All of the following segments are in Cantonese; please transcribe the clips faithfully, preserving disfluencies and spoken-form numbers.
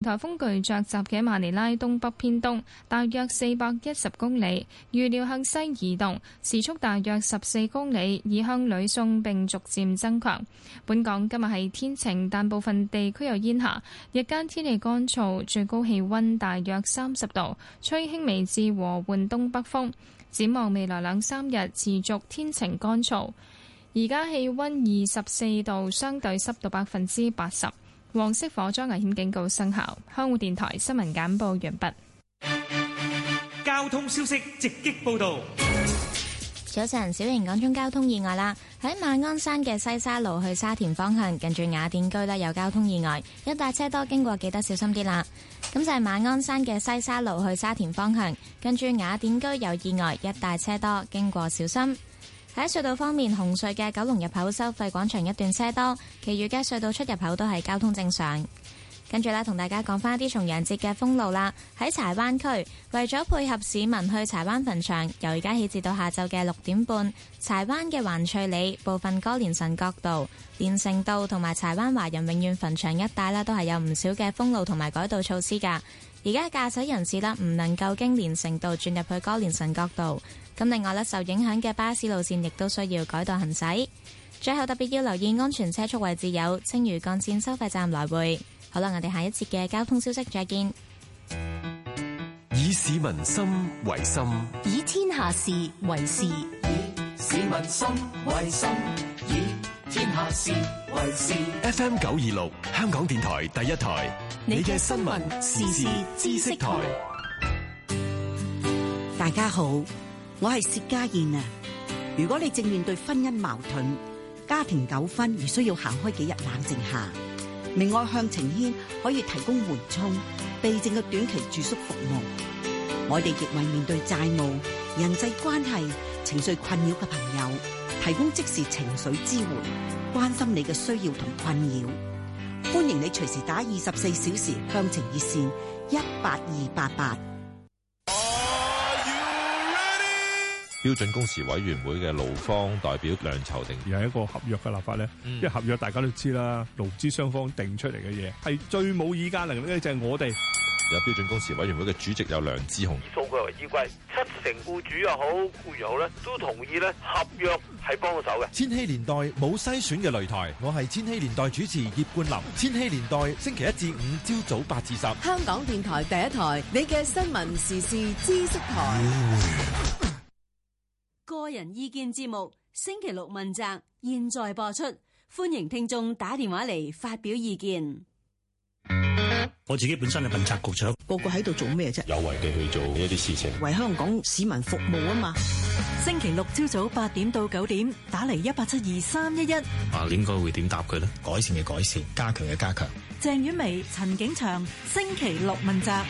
颱風巨鵲集結馬尼拉東北偏東，大約四百一十公里，預料向西移動，時速大約十四公里，移向呂宋並逐漸增強。本港今日係天晴，但部分地區有煙霞，日間天氣乾燥，最高氣溫大約三十度，吹輕微至和緩東北風。展望未來兩三日持續天晴乾燥。而家氣溫二十四度，相對濕度百分之八十。黃色火災危險警告生效。香港電台新聞簡報完畢。 交通消息直擊報道。 早晨，小型講中交通意外啦！喺馬鞍山嘅西沙路去沙田方向，近住雅典居呢有交通意外，一帶車多，經過記得小心啲啦。咁就係馬鞍山嘅西沙路去沙田方向，近住雅典居有意外，一帶車多，經過小心。喺隧道方面，紅隧嘅九龍入口收費廣場一段車多，其餘嘅隧道出入口都係交通正常。跟住咧，同大家講翻啲重陽節嘅封路啦。喺柴灣區，為咗配合市民去柴灣墳場，由而家起至到下晝嘅六點半，柴灣嘅環翠里、部分歌連臣角道、連城道同埋柴灣華人永遠墳場一帶啦，都係有唔少嘅封路同埋改道措施㗎。而家駕駛人士啦，唔能夠經連城道轉入去歌連臣角道。咁另外咧，受影響嘅巴士路線亦都需要改道行駛。最後特別要留意安全車速位置有青嶼幹線收費站來回。好啦，我哋下一節嘅交通消息再見。 以市民心為心， 以天下事為事。以市民心為心，以天下事為事。 F M 九二六，香港電台第一台，你嘅新聞時事知識台。 大家好，我係薛家燕啊！如果你正面對婚姻矛盾、家庭糾紛而需要行開幾日冷靜下，明愛向晴軒可以提供緩衝、避靜嘅短期住宿服務。我哋亦為面對債務、人際關係、情緒困擾嘅朋友提供即時情緒支援，關心你嘅需要同困擾。歡迎你隨時打二十四小時向晴熱線一八二八八。 標準工時委員會嘅勞方代表梁籌定， 而係一個合約嘅立法咧，嗯、因為合約大家都知啦，勞資雙方定出嚟嘅嘢係最冇議價能力嘅就係我哋。 有標準工時委員會嘅主席有梁志雄， 數據為依歸，七成僱主又好，僱員好咧，都同意咧合約係幫到手嘅。 千禧年代冇篩選嘅擂台，我係千禧年代主持葉冠霖。千禧年代星期一至五朝早八至十， 香港電台第一台，你嘅新聞時事知識台。個人意見節目星期六問責，現在播出，歡迎聽眾打電話嚟發表意見。 我自己本身係問責局長， 個個喺度做咩啫？ 有為地去做一啲事情， 為香港市民服務啊嘛。 星期六朝早八點到九點，打嚟一八七二三一一。 啊，應該會點答佢呢？改善嘅改善，加強嘅加強。 鄭婉薇、陳景祥，星期六問責。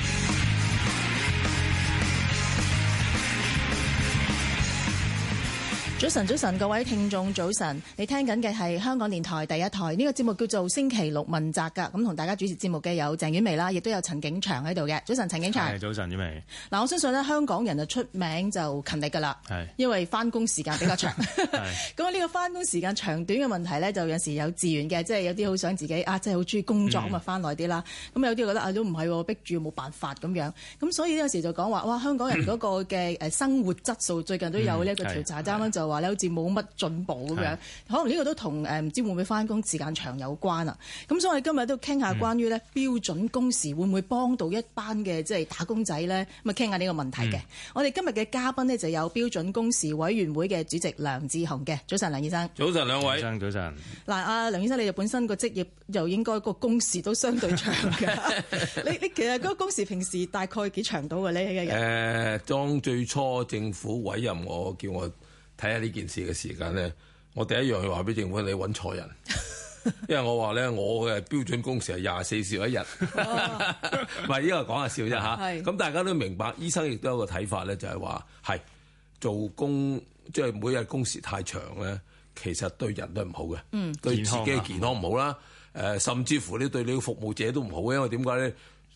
早晨，早晨，各位聽眾早晨，你聽緊嘅係香港電台第一台，呢個節目叫做星期六問責噶，咁同大家主持節目嘅有鄭婉薇啦，亦都有陳景祥喺度嘅。早晨，陳景祥。 係，早晨，婉薇。 嗱，我相信咧，香港人就出名就勤力噶啦，係，因為翻工時間比較長。係。咁呢個翻工時間長短嘅問題咧，就有時有自願嘅，即係有啲好想自己啊，即係好中意工作咁啊，翻耐啲啦。咁有啲覺得啊，都唔係逼住冇辦法咁樣。咁所以有時就講話，哇，香港人嗰個嘅誒生活質素最近都有呢一個調查，啱啱就話咧，好似冇乜進步咁樣，可能呢個都同誒唔知會唔會翻工時間長有關啊。咁所以我哋今日都傾下關於咧標準工時會唔會幫到一班嘅即係打工仔咧？咁啊傾下呢個問題嘅。嗯、我哋今日嘅嘉賓呢，就有標準工時委員會嘅主席梁志雄嘅。早晨，梁醫生。 早晨，兩位。 早晨，早晨。 嗱，阿梁醫生，你就本身個職業又應該個工時都相對長嘅。你你其實嗰個工時平時大概幾長到嘅呢？一日？ 誒，當最初政府委任我叫我睇下呢件事嘅時間咧，我第一樣要話俾政府，你揾錯人，因為我話咧，我嘅標準工時係廿四小時一日，唔係呢個講下笑啫嚇。咁大家都明白，醫生亦都有個睇法咧，就係話係做工即係每日工時太長咧，其實對人都唔好嘅，嗯、對自己嘅健康唔好啦。誒、呃，甚至乎你對你嘅服務者都唔好，因為點解咧？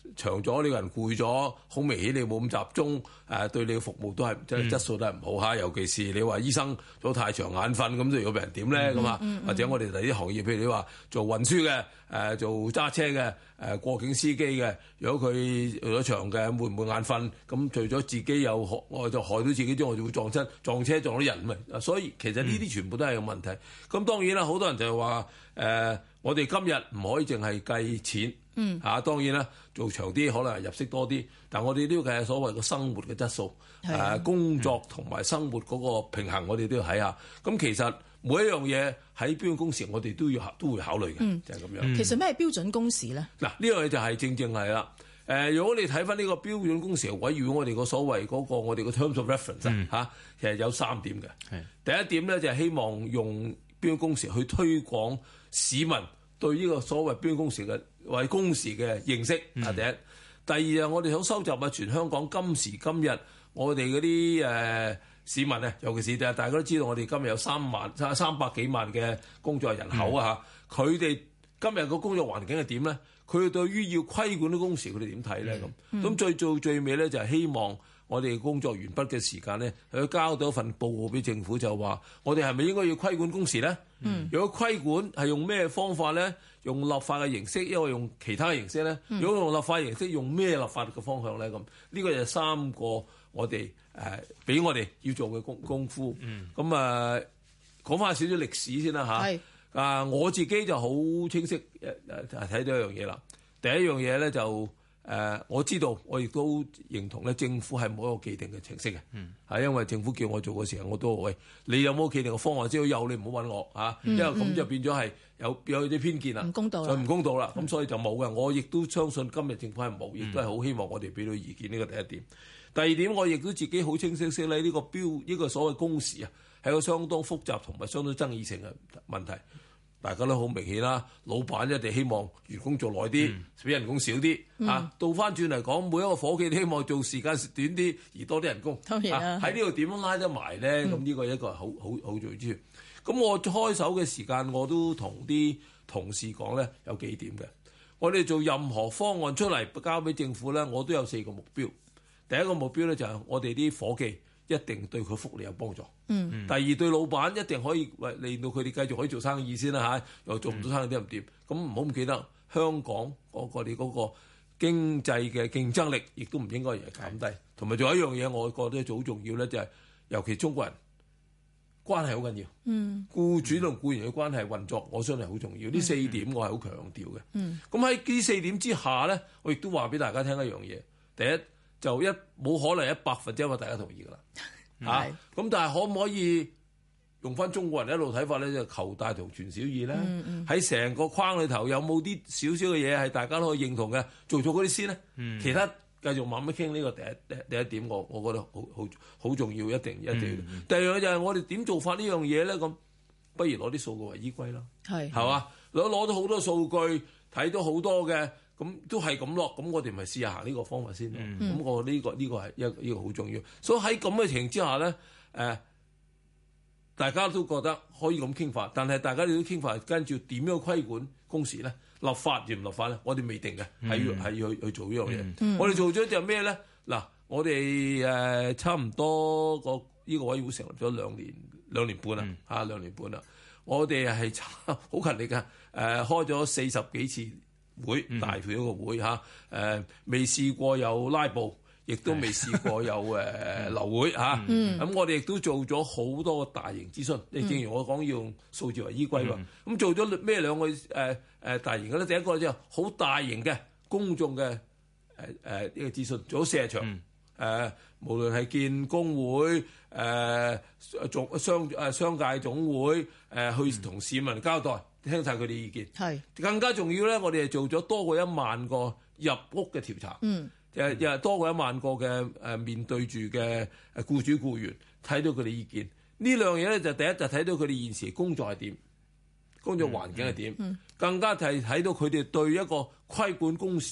長咗，呢個人攰咗，好明顯你冇咁集中，誒、呃、對你嘅服務都係即係質素都係唔好嚇。尤其是你話醫生做太長眼瞓，咁就有病人點咧咁啊？或者我哋第啲行業，譬如你話做運輸嘅，誒、呃、做揸車嘅，誒、呃、過境司機嘅，如果佢去咗長嘅，會唔會眼瞓？咁除咗自己有害，我就害到自己之外，就會撞親撞車撞到人咪。所以其實呢啲全部都係有問題。咁、嗯、當然啦，好多人就係話誒、呃，我哋今日唔可以淨係計錢。嗯，嚇、啊、當然啦，做長啲可能係入息多啲，但我哋都要計所謂嘅生活嘅質素，誒、啊、工作同埋生活嗰個平衡，我哋都要睇下。咁其實每一樣嘢喺標準工時，我哋都要都會考慮嘅，嗯、就係咁樣。 嗯、其實咩係標準工時咧？嗱， 呢樣嘢就係正正係啦。誒、呃，如果你睇翻呢個標準工時委員會，我哋個所謂嗰、那個我哋個 terms of reference 嚇、嗯啊，其實有三點嘅。第一點咧就係、是、希望用標準工時去推廣市民對呢個所謂標準工時嘅為工時嘅認識啊，第一，嗯、第二啊，我哋想收集啊全香港今時今日我哋嗰啲誒市民啊，尤其是大家都知道我哋今日有三萬三三百幾萬嘅工作人口啊嚇，佢哋、嗯、今日個工作環境係點咧？佢哋對於要規管啲工時，佢哋點睇咧？咁咁、嗯、最做最尾咧，就係希望我哋工作完畢嘅時間咧，佢交到一份報告俾政府，就話我哋係咪應該要規管工時咧？嗯、如果規管係用咩方法咧？用立法嘅形式，因為用其他嘅形式咧。嗯、如果用立法形式，用咩立法嘅方向咧？咁呢個就係三個我哋誒俾我哋要做嘅功功夫。咁啊講翻少少歷史先啦嚇。啊，我自己就好清晰誒誒睇到一樣嘢啦。第一樣嘢咧就誒、呃、我知道，我亦都認同咧，政府係冇一個既定嘅程式嘅。嗯，係因為政府叫我做嘅時候，我都喂，你有冇既定嘅方案？只要有，你唔好揾我嚇，嗯、因為咁就變咗係有有啲偏見啦，唔公道啦，就唔公道啦。咁、嗯、所以就冇嘅。我亦都相信今日政府係冇，亦都係好希望我哋俾到意見。呢個第一點。第二點，我亦都自己好清晰識咧，呢個標呢、呢個所謂工時啊，係個相當複雜同埋相當爭議性嘅問題。大家都好明顯啦，老闆一定希望員工做耐啲，俾、嗯、人工少啲。嗯、啊，倒翻轉嚟講，每一個伙計都希望做時間短啲，而多啲人工。當然啦，喺呢度點樣拉得埋咧？咁呢、嗯、個一個係好好好重要之處。咁我開手嘅時間，我都同啲同事講咧，有幾點嘅。我哋做任何方案出嚟交俾政府咧，我都有四個目標。第一個目標咧就係我哋啲伙計一定對佢福利有幫助。嗯，第二對老闆一定可以為令到佢哋繼續可以做生意先啦嚇，又做唔到生意啲唔掂。咁唔好唔記得香港嗰個你嗰個經濟嘅競爭力，亦都唔應該係減低。同埋仲有一樣嘢，我覺得好重要咧，就係、是、尤其中國人關係好緊要。嗯，僱主同僱員嘅關係運作，我相信係好重要。呢、嗯、四點我係好強調嘅。嗯，咁喺呢四點之下咧，我亦都話俾大家聽一樣嘢。第一就一冇可能一百分之一個大家同意㗎啦。嚇！咁、啊、但係可唔可以用翻中國人一路睇法咧？就求大同存小異咧。喺成、嗯嗯、個框裏頭有冇啲少少嘅嘢係大家都可以認同嘅？做咗嗰啲先咧。嗯、其他繼續慢慢傾呢個第一第第一點，我我覺得好好好重要，一定一定要。嗯、第二樣就係我哋點做法呢樣嘢咧？咁不如攞啲數據為依歸啦。係係嘛？攞攞到好多數據，睇到好多嘅。咁都係咁咯，咁我哋咪試下行呢個方法先咯。咁、嗯、我呢、呢個呢、呢個係一呢個好重要。所以喺咁嘅情形之下咧，誒、呃，大家都覺得可以咁傾法，但係大家都傾法跟住點樣規管工時咧？立法定唔立法咧？我哋未定嘅，係、嗯、要係要去去做呢樣嘢。嗯、我哋做咗就咩咧？嗱，我哋誒差唔多個呢個委員會成立咗兩年兩年半啦，嚇、嗯、兩年半啦。我哋係好勤力嘅，誒、呃、開咗四十幾次會大票一個會嚇，誒未試過有拉布，亦都未試過有誒流會嚇。咁、嗯啊、我哋亦都做咗好多個大型諮詢。你、嗯、正如我講，要用數字為依歸喎。咁、嗯、做咗咩兩個誒誒、呃、大型嘅咧？第一個就好大型嘅公眾嘅誒誒呢個諮詢，做咗四十場。誒、嗯呃、無論係建工會誒總、呃、商誒商界總會誒、呃、去同市民交代。聽晒佢哋意見，係是更加重要咧。我哋係做咗多過一萬個入屋嘅調查，嗯，誒又係多過一萬個嘅誒面對住嘅誒僱主僱員，睇到佢哋意見。呢兩樣嘢咧就第一就睇到佢哋現時工作係點，工作環境係點，嗯嗯、更加係睇到佢哋對一個規管工時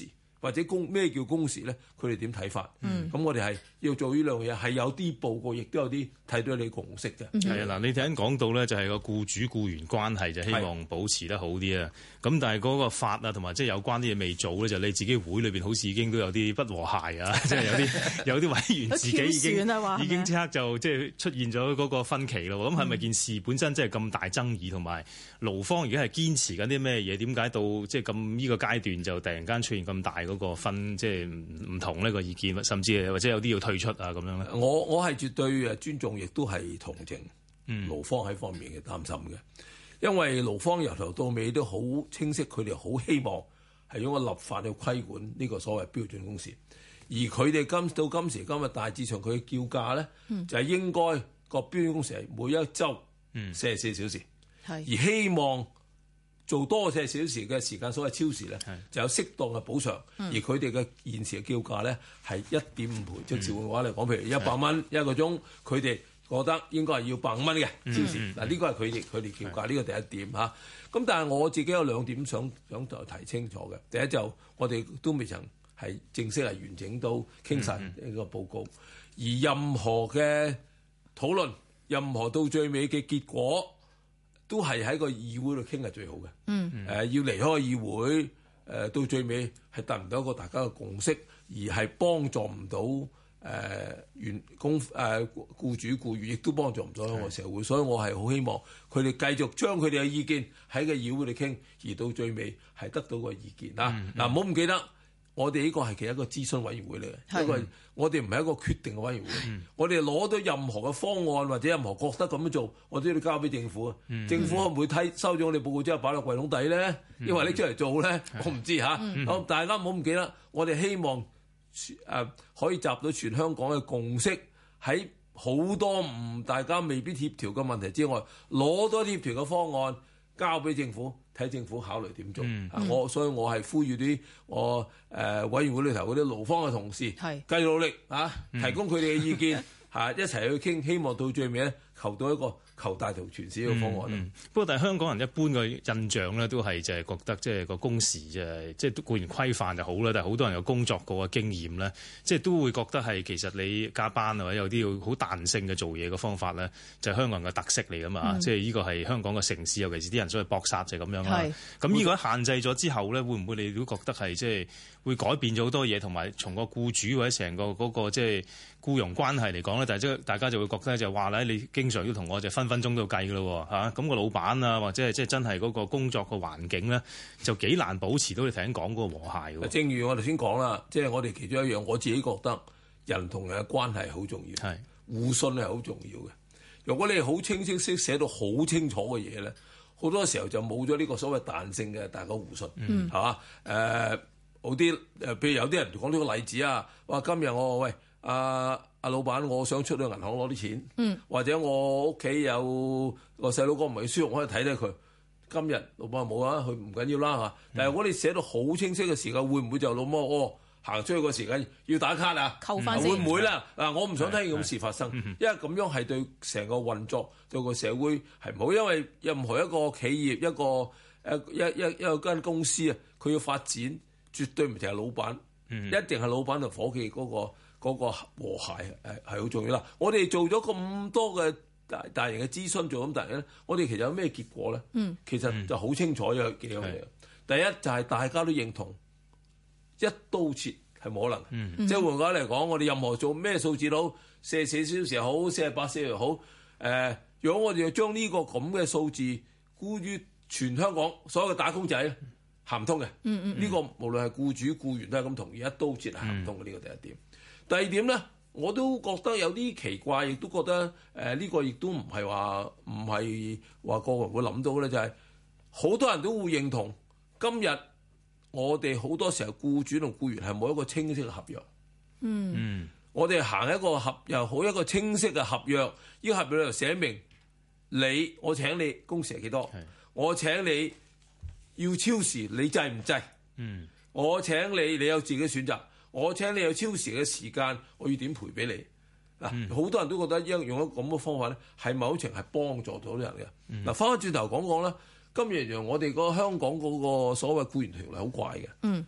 或者工咩叫工時咧，佢哋點睇法？咁、 嗯、 我哋係要做呢兩樣嘢，係有啲報告，亦都有啲睇到你共識嘅。 係啊，嗱，你頭先講到咧，就係個僱主僱員關係就希望保持得好啲啊。咁但係嗰個法啊，同埋即係有關啲嘢未做咧，就你自己會裏邊好似已經都有啲不和諧啊，即係有啲有啲委員自己已經已經即刻就即係出現咗嗰個分歧咯。咁係咪件事本身即係咁大爭議，同埋勞方而家係堅持緊啲咩嘢？點解到即係咁呢個階段就突然間出現咁大嗰個分，即係唔唔同呢個意見，甚至或者有啲要退出啊咁樣咧？ 我我係絕對誒尊重，亦都係同情勞方喺方面嘅擔心嘅。因為勞方由頭到尾都好清晰，佢哋好希望係用個立法去規管呢個所謂標準工時，而佢哋今到今時今日大致上佢嘅叫價咧，嗯、就係應該個標準工時係每一週四十四小時，嗯、而希望做多四十四小時嘅時間，所謂超時咧，就有適當嘅補償，嗯、而佢哋嘅現時嘅叫價咧係一點五倍，即係換話嚟講，譬如一百蚊一個鐘，佢哋覺得應該係要百五蚊嘅超時，嗱呢、嗯、個係佢哋佢哋叫價，呢個第一點嚇。咁但係我自己有兩點想想提清楚嘅。第一就我哋都未曾係正式係完整到傾晒呢個報告，嗯、而任何嘅討論，任何到最尾嘅結果，都係喺個議會度傾係最好嘅。嗯，誒、呃、要離開個議會，誒、呃、到最尾係達唔到一個大家嘅共識，而係幫助唔到。誒、呃、員工誒、呃、僱主僱員亦都幫助唔到香港社會，所以我係好希望佢哋繼續將佢哋嘅意見喺個議會度傾，而到最尾係得到個意見啦。嗱、嗯，唔好唔記得，我哋呢個係其實一個諮詢委員會嚟嘅，因為的我哋唔係一個決定嘅委員會。嗯、我哋攞到任何嘅方案或者任何覺得咁樣做，我都要交俾政府啊。嗯、政府可唔會睇收咗我哋報告之後擺落櫃桶底咧？因為拎出嚟做咧，嗯、我唔知嚇。嗯、好，大家唔好唔記得，我哋希望。誒、呃、可以集到全香港嘅共識，喺好多唔大家未必協調嘅問題之外，攞多協調嘅方案交俾政府，睇政府考慮點做。嗯嗯、我所以我係呼籲啲我誒、呃、委員會裏頭嗰啲勞方嘅同事，繼續努力啊，提供佢哋嘅意見嚇、嗯啊，一齊去傾，希望到最尾咧求到一個求大同存市嘅方案。嗯嗯、不過，但係香港人一般嘅印象咧，都係就係覺得即係個工時就係即係固然規範就好啦，但係好多人有工作過嘅經驗咧，即係都會覺得係其實你加班啊或者有啲好彈性嘅做嘢嘅方法咧，就係香港人嘅特色嚟㗎嘛。嗯、即係呢個係香港嘅城市，尤其是啲人所謂搏殺就係咁樣啦。咁呢是個限制咗之後咧，會唔會你都覺得係即係會改變咗好多嘢，同埋從個僱主或者成個嗰個即係僱傭關係嚟講咧，但係即係大家就會覺得就話咧，你經常要同我就分分鐘都要計㗎咯嚇，咁個老闆啊或者係即係真係嗰個工作個環境咧，就幾難保持到你頭先講嗰個和諧喎。正如我頭先講啦，即係我哋其中一樣，我自己覺得人同人嘅關係好重要，係互信係好重要嘅。如果你係好清晰識寫到好清楚嘅嘢咧，好多時候就冇咗呢個所謂彈性嘅大家互信，係嘛？誒好啲誒，譬如有啲人講呢個例子啊，話今日我喂阿阿老闆，我想出去銀行攞啲錢，嗯、或者我屋企有個細佬哥唔係舒服，我可以睇睇佢。今日老闆話冇啊，佢唔緊要啦嚇。但係如果你寫到好清晰嘅時間，會唔會就老媽哦行出去個時間要打卡啊？扣翻先會唔會啦？嗱，我唔想聽見咁事發生，因為咁樣係對成個運作對個社會係唔好。因為任何一個企業一個誒一一一個間公司啊，佢要發展，絕對唔淨係老闆，嗯、一定係老闆同伙計嗰個。嗰個和諧係係好重要啦！我哋做咗咁多嘅大大型嘅諮詢，做咁大咧，我哋其實有咩結果咧？嗯，其實就好清楚有幾樣嘢。是第一就係、是、大家都認同一刀切係冇可能。嗯，即係換句話嚟講，我哋任何做咩數字都四十四小時又好，四十八小時又好。誒、呃，如果我哋要將呢個咁嘅數字沽於全香港所有嘅打工仔，行唔通嘅。嗯嗯，呢個無論係僱主僱員都係咁同意，一刀切係行唔通嘅。呢個、嗯、第一點。第二點咧，我都覺得有啲奇怪，亦都覺得誒呢、呃這個亦都唔係話唔係話個個人會諗到嘅咧，就係、是、好多人都會認同今日我哋好多時候僱主同僱員係冇一個清晰嘅合約。嗯，我哋行一個合又好一個清晰嘅合約，呢、這個合約就寫明你我請你工時係幾多，是我請你要超時你制唔制？嗯，我請你你有自己選擇。我請你有超時嘅時間，我要點賠俾你？嗱、嗯，好多人都覺得用用咗咁嘅方法咧，係某程係幫助到啲人嘅。嗱、嗯，翻返轉頭講講啦，今日讓我哋個香港嗰個所謂僱員條例好怪嘅。嗯，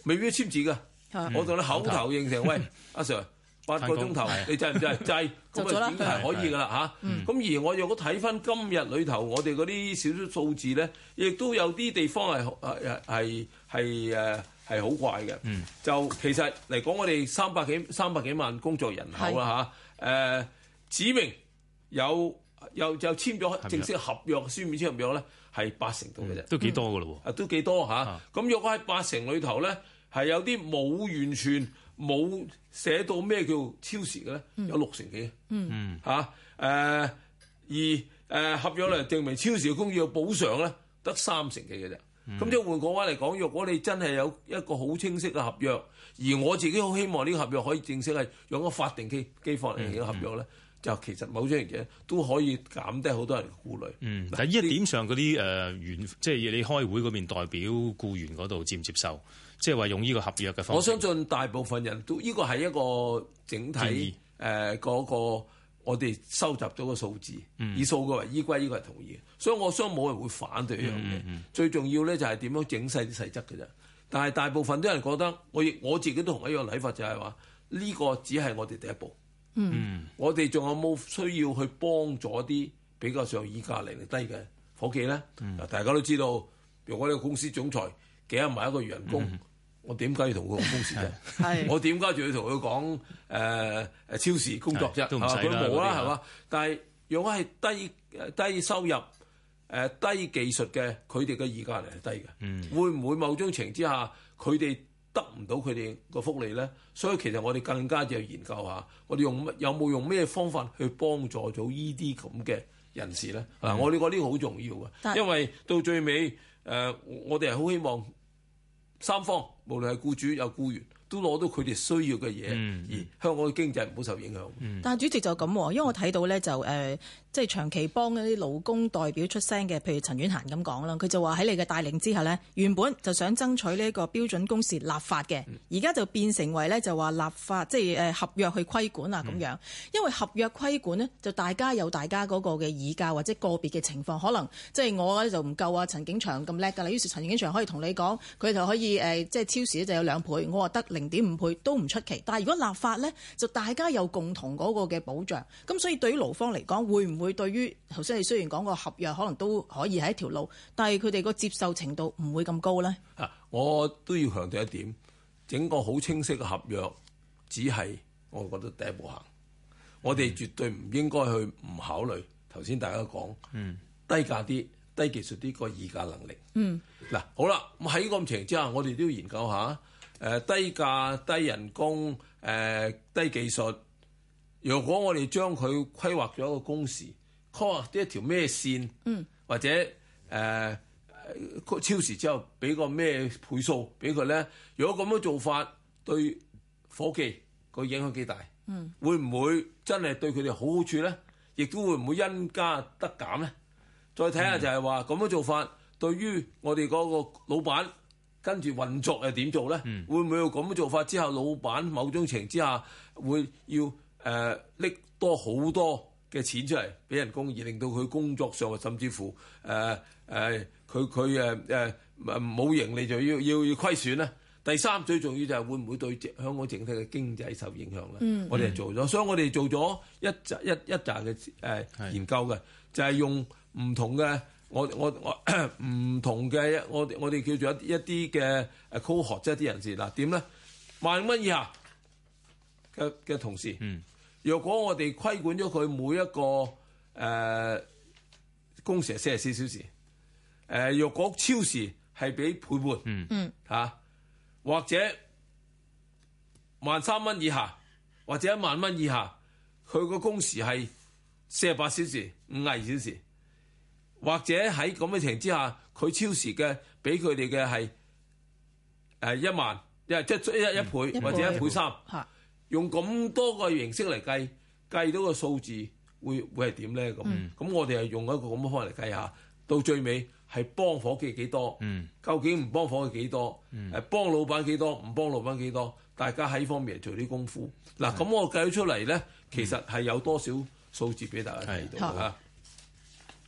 未必簽字㗎。 嗯、 我同你口頭應承，喂，阿 Sir。八個鐘頭，你制唔制？制，咁啊已經係可以㗎啦嚇。咁而我若果睇翻今日裏頭，我哋嗰啲少少數字咧，亦都有啲地方係係係係誒係好怪嘅。嗯、就其實嚟講，我哋三百幾三百幾萬工作人口啦嚇。誒、呃、指明有有就簽咗正式合約、書面簽合約咧，係八成度嘅啫。 都幾多㗎咯喎？ 啊，都幾多嚇？咁若果喺八成裏頭咧，係有啲冇完全。冇寫到咩叫超時嘅咧，有六成幾， 嗯嚇誒、啊呃，而誒、呃、合約嚟證明超時嘅工要補償咧，得三成幾嘅啫。咁、嗯、即係換個話嚟講，若果你真係有一個好清晰嘅合約，而我自己好希望呢個合約可以正式係用個法定機機方嚟嘅合約咧，嗯嗯、就其實某種嘢都可以減低好多人嘅顧慮。 嗯，但係呢一點上嗰啲誒員，即係你開會嗰邊代表僱員嗰度接唔接受？即係話用呢個合約嘅方式， 我相信大部分人都呢、呢個係一個整體誒嗰、呃嗰個我哋收集到嘅數字，嗯、以數據為依歸，呢個係同意嘅。所以我相信冇人會反對呢樣嘢。嗯嗯、最重要咧就係點樣整細啲細則嘅啫。但係大部分啲人覺得，我亦我自己都同一樣睇法，就係話呢個只係我哋第一步。嗯，我哋仲有冇需要去幫助啲比較上議價能力低嘅伙計咧？嗱、嗯，大家都知道，如果呢個公司總裁幾廿萬一個月人工。嗯我點解要同佢講工時啫？我點解仲要同佢講誒誒超時工作啫？佢冇啦，係嘛？但係如果係低低收入誒、呃、低技術嘅，佢哋嘅議價能力係低嘅。嗯、會唔會某種情況之下，佢哋得唔到佢哋個福利咧？所以其實我哋更加就要研究下，我哋用有冇用咩方法去幫助到呢啲咁嘅人士咧？嗱、嗯，我哋覺得呢個好重要嘅，因為到最尾誒、呃，我哋係好希望。三方無論係僱主有僱員，都攞到佢哋需要嘅嘢，嗯、而香港嘅經濟唔好受影響。 嗯、但係主席就咁，因為我睇到咧就誒、呃，即係長期幫嗰啲勞工代表出聲嘅，譬如陳婉嫻咁講啦，佢就話喺你嘅帶領之下呢，原本就想爭取呢一個標準工時立法嘅，而家、嗯、就變成為咧就話立法，即係誒合約去規管啊咁樣。嗯、因為合約規管呢，就大家有大家嗰個嘅議價或者個別嘅情況，可能即係我咧就唔夠啊陳景祥咁叻㗎啦，於是陳景祥可以同你講，佢就可以誒即係超時就有兩倍，我話得零點五倍都唔出奇。但係如果立法咧，就大家有共同嗰個嘅保障，咁所以對於勞方嚟講，會唔會對於頭先你雖然講個合約可能都可以係一條路，但係佢哋個接受程度唔會咁高咧？ 啊，我都要強調一點，整個好清晰嘅合約只係我覺得第一步行，我哋絕對唔應該去唔考慮頭先大家講，嗯，低價啲、低技術啲個議價能力。嗯，嗱好啦，咁喺咁情況之下，我哋都要研究下。誒、呃、低價、低人工、誒、呃、低技術。如果我哋將佢規劃咗一個工時，規劃啲一條咩線，嗯、或者誒、呃、超時之後俾個咩倍數俾佢咧？如果咁樣做法對伙計個影響幾大？嗯、會唔會真係對佢哋好好處咧？亦都會唔會因加得減咧？再睇下就係話咁樣做法對於我哋嗰個老闆。跟住運作又點做咧？嗯、會唔會有咁嘅做法之後，老闆某種情之下會要誒拎、呃、多好多嘅錢出嚟俾人工，而令到佢工作上甚至乎誒誒佢佢誒誒冇盈利就要要要虧損咧？第三最重要就係會唔會對香港整體嘅經濟受影響咧？嗯、我哋係做咗，所以我哋做咗一集一一集嘅誒研究嘅，是就係用唔同嘅。我我我唔同嘅，我我哋叫做一一啲嘅誒 cohort 即係啲人士嗱點咧？萬蚊以下嘅嘅同事，嗯、若果我哋規管咗佢每一個誒、呃、工時係四十四小時，誒、呃、若果超時係俾倍半，嗯嚇、啊，或者萬三蚊以下，或者一萬蚊以下，佢個工時係四十八小時、五十二小時。或者喺咁嘅情況之下，佢超時嘅俾佢哋嘅係誒一萬，即係一一倍、嗯、或者一倍三，嗯、用咁多個形式嚟計，計到個數字會會係點咧？咁咁、嗯、我哋係用一個咁嘅方法嚟計下，到最尾係幫伙計幾多？嗯、究竟唔幫伙計幾多？誒、嗯、幫老闆幾多？唔幫老闆幾多？大家喺呢方面嚟做啲功夫。嗱咁、嗯、我計咗出嚟咧，其實係有多少數字俾大家睇到嚇。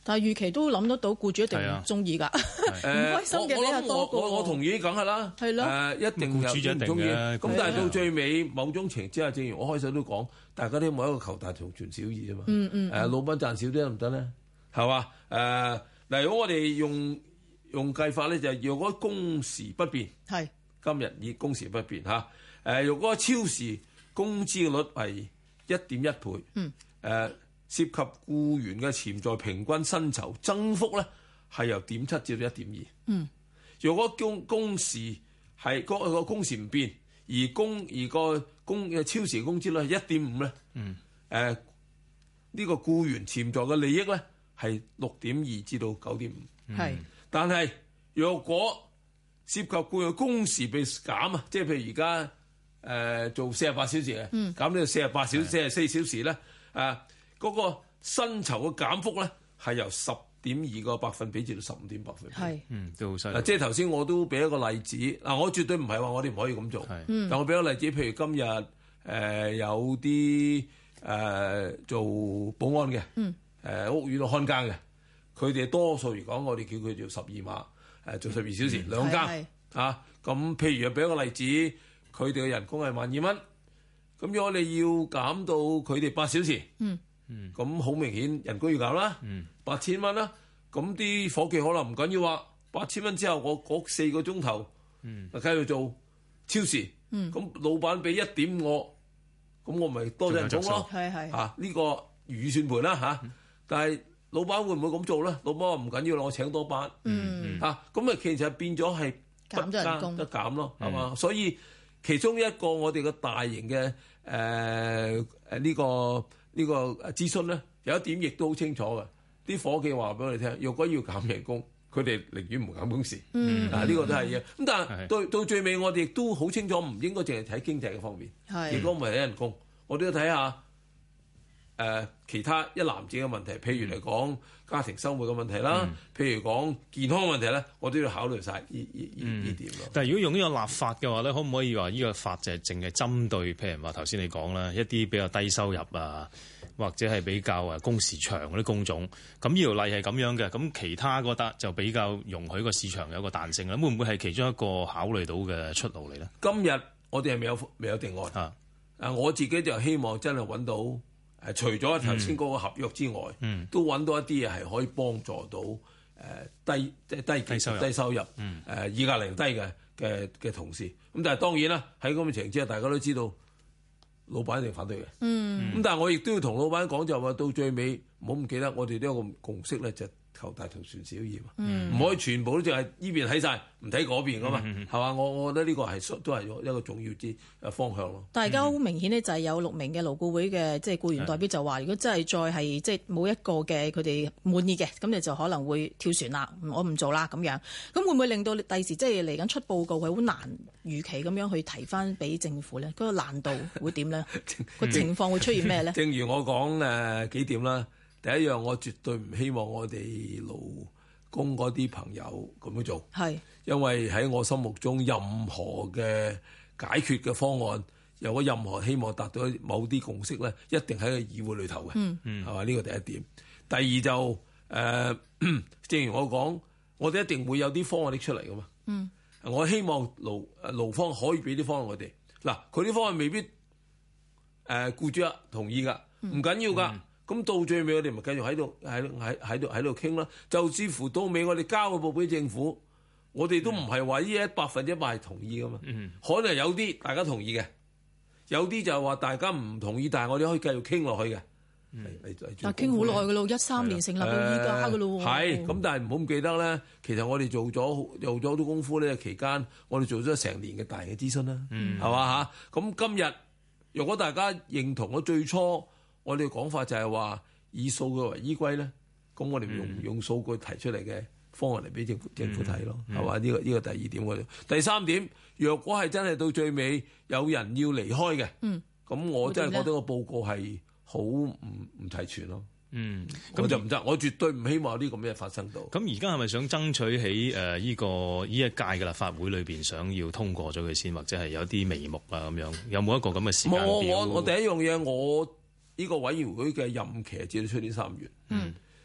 但係預期都諗得到，僱主一定唔中意㗎，唔開心嘅比較多過。 我我我同意，梗係啦， 係咯， 誒一定僱主就一定嘅。 咁但係到最尾某種情況之下，正如我開首都講，大家都冇一個求大同存小異啫嘛。 嗯嗯。 誒老闆賺少啲得唔得咧？係嘛？誒嗱，如果我哋用用計法咧，就係若果工時不變， 係今日以工時不變嚇。誒若果超時工資嘅率係一點一倍，嗯，誒。涉及僱員嘅潛在平均薪酬增幅咧，係由點七至到一點二。嗯，如果工工時係個個工時唔變，而工而個工嘅超時工資率係一點五咧，嗯，誒、呃、呢、這個僱員潛在嘅利益咧係六點二至到九點五。係、嗯，但係若果涉及僱員工時被減啊，即係譬如而家誒做四十八小時嘅，嗯，減到四十八小時、四十四小時咧，啊。嗰、那個薪酬嘅減幅咧，係由十點二個百分比至到十五點百分比。係，嗯，都好犀利。嗱，即係頭先我都俾一個例子。嗱，我絕對唔係話我哋唔可以咁做。係，但我俾一個例子，譬如今日誒、呃、有啲誒、呃、做保安嘅，嗯，誒、呃、屋苑度看更嘅，佢哋多數嚟講，我哋叫佢做十二碼，誒、呃、做十二小時、嗯、兩更啊。咁譬如俾一個例子，佢哋嘅人工係萬二蚊，咁如果你要減到佢哋八小時，嗯。嗯，咁好明顯人工要減啦，嗯，八千蚊啦，咁啲伙計可能唔緊要話，八千蚊之後我嗰四個鐘頭，嗯，繼續做超時，嗯，咁老闆俾一點我，咁我咪多咗人工咯，係係，啊呢、這個預算盤啦嚇，但係老闆會唔會咁做咧？老闆話唔緊要啦，我請多班，嗯，嚇咁啊，其實變咗係減咗人工得減咯，係、嗯、嘛？所以其中一個我哋嘅大型嘅誒誒呢個。呢、這個諮詢咧有一點亦都好清楚嘅，啲伙計話俾我哋聽，若果要減人工，佢哋寧願唔減工時。嗯，啊呢、這個都係嘅。咁但係到到最尾，我哋亦都好清楚，唔應該淨係睇經濟嘅方面。係，如果唔係睇人工，我都要睇下誒、呃、其他一籃子嘅問題，譬如嚟講家庭生活嘅問題啦，嗯、譬如講健康問題咧，我都要考慮晒呢呢呢呢點咯。但係如果用呢個立法嘅話咧，可唔可以話呢個法就係淨係針對譬如話頭先你講啦，一啲比較低收入啊，或者係比較誒工時長嗰啲工種，咁呢條例係咁樣嘅，咁其他覺得就比較容許個市場有個彈性啦。會唔會係其中一個考慮到嘅出路嚟咧？今日我哋係未有未有定案啊！啊，我自己就希望真係揾到誒、啊，除咗頭先嗰個合約之外，嗯、都揾到一啲嘢係可以幫助到誒、呃、低即係低低收入、低收入誒議價能力低嘅嘅嘅同事。咁但係當然啦，喺咁嘅情況之下，大家都知道。老闆一定反對嘅，咁、嗯、但係我亦都要同老闆講，就話到最尾唔好唔記得，我哋都有個共識咧，就求大同存小異嘛，唔、嗯、可以全部都淨係呢邊睇晒，唔睇嗰邊噶嘛，係、嗯、嘛？我我覺得呢個係都係一個重要之誒方向咯。但係而家好明顯呢，就係有六名嘅勞顧會嘅即係僱員代表就話，如果真係再係即係冇一個嘅佢哋滿意嘅，咁你就可能會跳船啦，我唔做啦咁樣。咁會唔會令到第時即係嚟緊出報告係好難預期咁樣去提翻俾政府咧？嗰、那個難度會點咧？個情況會出現咩咧？正如我講誒、呃、幾點啦。第一樣，我絕對唔希望我哋勞工嗰啲朋友咁樣做，係因為喺我心目中，任何嘅解決嘅方案，有我任何希望達到某啲共識咧，一定喺個議會裏頭嘅，嗯嗯，係嘛？呢個第一點。第二就誒、呃，正如我講，我哋一定會有啲方案拎出嚟噶嘛，嗯，我希望勞勞方可以俾啲方案我哋。嗱，佢啲方案未必誒僱主啊同意噶，唔緊要噶。咁到最尾，我哋咪繼續喺度喺喺喺度喺度傾啦。就似乎到尾，我哋交個報俾政府，我哋都唔係話呢一百分之一百係同意噶嘛。嗯、可能有啲大家同意嘅，有啲就係話大家唔同意，但係我哋可以繼續傾落去嘅。嗯、但係傾好耐噶咯，一三年成立到依家噶咯。係咁、呃，但係唔好唔記得咧。其實我哋做咗做咗好多功夫呢，期間我哋做咗成年嘅大型嘅諮詢啦，係嘛嚇？咁今日如果大家認同咗最初。我哋講法就係話以數據為依歸咧，咁我哋用、嗯、用數據提出嚟嘅方案嚟俾政府政府睇咯，係、嗯、嘛？呢、這個呢、這個第二點我哋第三點，若果係真係到最尾有人要離開嘅，咁、嗯、我真係覺得個報告係好唔唔齊全咯。嗯，咁就唔得，我絕對唔希望有啲咁嘅發生到。咁而家係咪想爭取喺誒呢個呢一屆嘅立法會裏邊，想要通過咗佢先，或者係有啲眉目啊咁樣？有冇一個咁嘅時間表？我我我第一樣嘢我。呢、這個委員會嘅任期至到出年三月，嗯，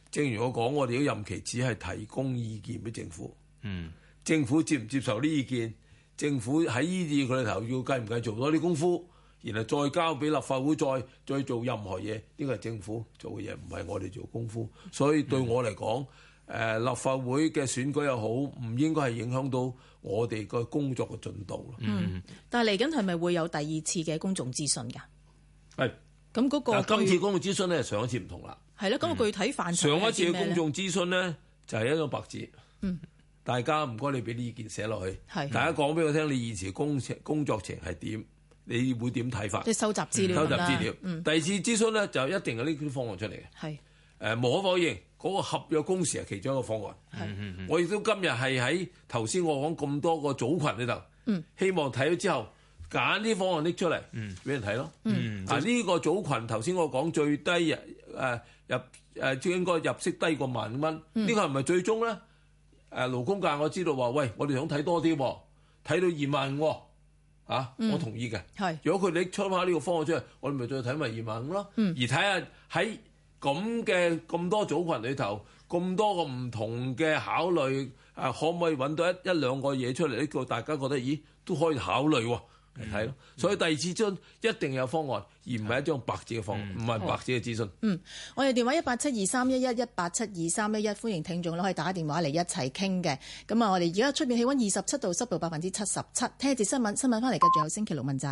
正如我講，我哋嘅任期只係提供意見俾政府。 嗯， 政府接唔接受呢意見？政府喺呢啲佢哋頭要繼唔繼續做多啲功夫，然後再交俾立法會再再做任何嘢，呢個係政府做嘅嘢，唔係我哋做功夫。所以對我嚟講，誒、呃、立法會嘅選舉又好，唔應該係影響到我哋個工作嘅進度。 嗯，但係嚟緊係咪會有第二次嘅公眾諮詢㗎？ 係。 咁嗰個今次公眾諮詢咧，上一次唔同啦。 係咯，咁、嗰個具體範疇上一次嘅公眾諮詢咧，就係、是、一張白紙。嗯。大家唔該，你俾啲意見寫落去。係。大家講俾我聽，你現時工程工作程係點？你會點睇法？ 即係收集資料。收集資料。嗯。第二次諮詢咧，就一定係呢啲方案出嚟嘅。係。誒、呃，無可否認，嗰、嗰個合約工時係其中一個方案。係。嗯嗯、我亦都今日係喺頭先我講咁多個組群裏頭，嗯，希望睇咗之後。揀啲方案拎出嚟，俾、嗯、人睇咯。嗯、啊，呢、這個組群頭先我講最低誒、呃、入誒、呃，應該入息低過萬蚊。呢、嗯這個係唔係最終咧？誒、呃、勞工界我知道話，喂，我哋想睇多啲，睇到二萬五，啊，嗯、我同意嘅。係，如果佢哋出翻呢個方案出嚟，我哋咪再睇埋二萬五咯。嗯、而睇下喺咁嘅咁多組群裏頭，咁多個唔同嘅考慮，誒、啊，可唔可以揾到一一兩個嘢出嚟？呢個大家覺得，咦，都可以考慮喎。嚟睇咯，所以第二次諮詢一定有方案，而唔係一張白紙嘅方案，唔係、嗯、白紙嘅諮詢。嗯，我哋電話一八七二三一一一八七二三一一，歡迎聽眾都可以打電話嚟一齊傾嘅。咁啊，我哋而家出面氣溫二十七度，濕度百分之七十七。聽一節新聞，新聞翻嚟繼續有星期六問責。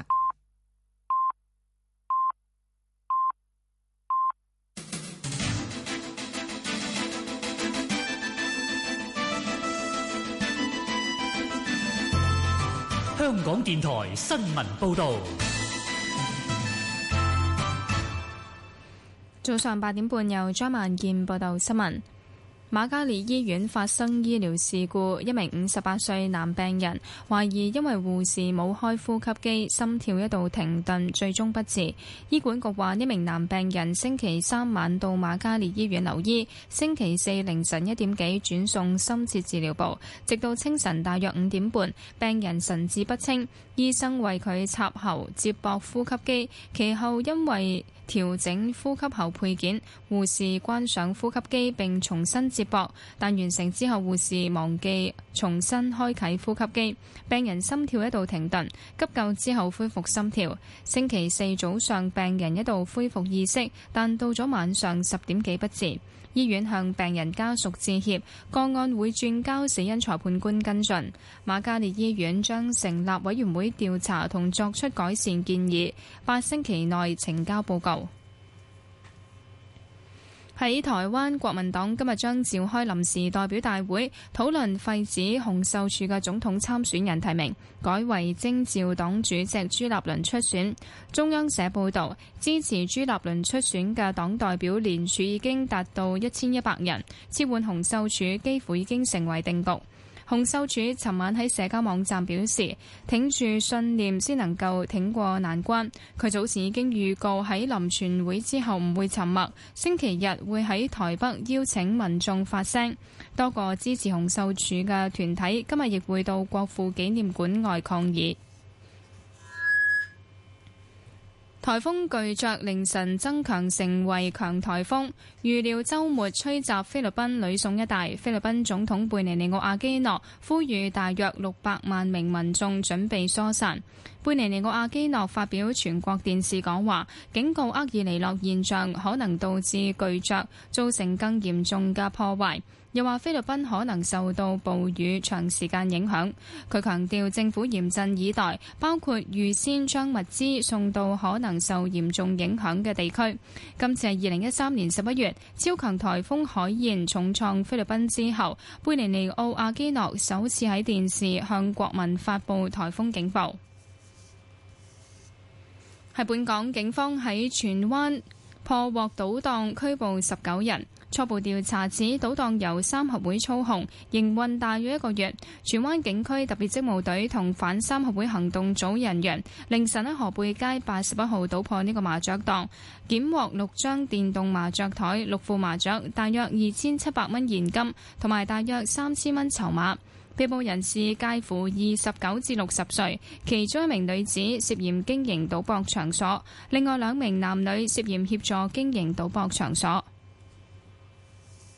香港電台新聞報導。 早上八點半，由張萬健報道新聞。瑪嘉烈醫院發生醫療事故，一名五十八歲男病人懷疑因為護士冇開呼吸機，心跳一度停頓，最終不治。醫管局話，呢名男病人星期三晚到瑪嘉烈醫院留醫，星期四凌晨一點幾轉送深切治療部，直到清晨大約五點半，病人神志不清，醫生為佢插喉接駁呼吸機，其後因為調整呼吸喉配件，護士關上呼吸機並重新接駁，但完成之後護士忘記重新開啟呼吸機，病人心跳一度停頓，急救之後恢復心跳。星期四早上病人一度恢復意識，但到咗晚上十點幾不治。醫院向病人家屬致歉，個案會轉交死因裁判官跟進。瑪嘉烈醫院將成立委員會調查同作出改善建議，八星期內呈交報告。喺台灣，國民黨今日將召開臨時代表大會，討論廢止洪秀柱嘅總統參選人提名，改為徵召黨主席朱立倫出選。中央社報導，支持朱立倫出選嘅黨代表連署已經達到一千一百人，撤換洪秀柱幾乎已經成為定局。洪秀柱尋晚喺社交網站表示，挺住信念先能夠挺過難關。佢早前已經預告喺臨全會之後唔會沉默，星期日會喺台北邀請民眾發聲。多個支持洪秀柱嘅團體今日亦會到國父紀念館外抗議。颱風巨鵲凌晨增強成為強颱風，預料週末吹襲菲律賓呂宋一帶。菲律賓總統貝尼尼奧阿基諾呼籲大約六百萬名民眾準備疏散。貝尼尼奧阿基諾發表全國電視講話，警告厄爾尼諾現象可能導致巨鵲造成更嚴重嘅破壞。又話菲律賓可能受到暴雨長時間影響。佢強調政府嚴陣以待，包括預先將物資送到可能受嚴重影響嘅地區。今次係二零一三年十一月超強颱風海燕重創菲律賓之後，貝尼尼奧阿基諾首次喺電視向國民發布颱風警報。喺本港，警方喺荃灣破獲賭檔，拘捕十九人。初步調查指，賭檔由三合會操控，營運大約一個月。荃灣警區特別職務隊同反三合會行動組人員凌晨喺河背街八十一號搗破呢個麻雀檔，檢獲六張電動麻雀台、六副麻雀、大約二千七百蚊現金同埋大約三千蚊籌碼。被捕人士介乎二十九至六十歲，其中一名女子涉嫌經營賭博場所，另外兩名男女涉嫌協助經營賭博場所。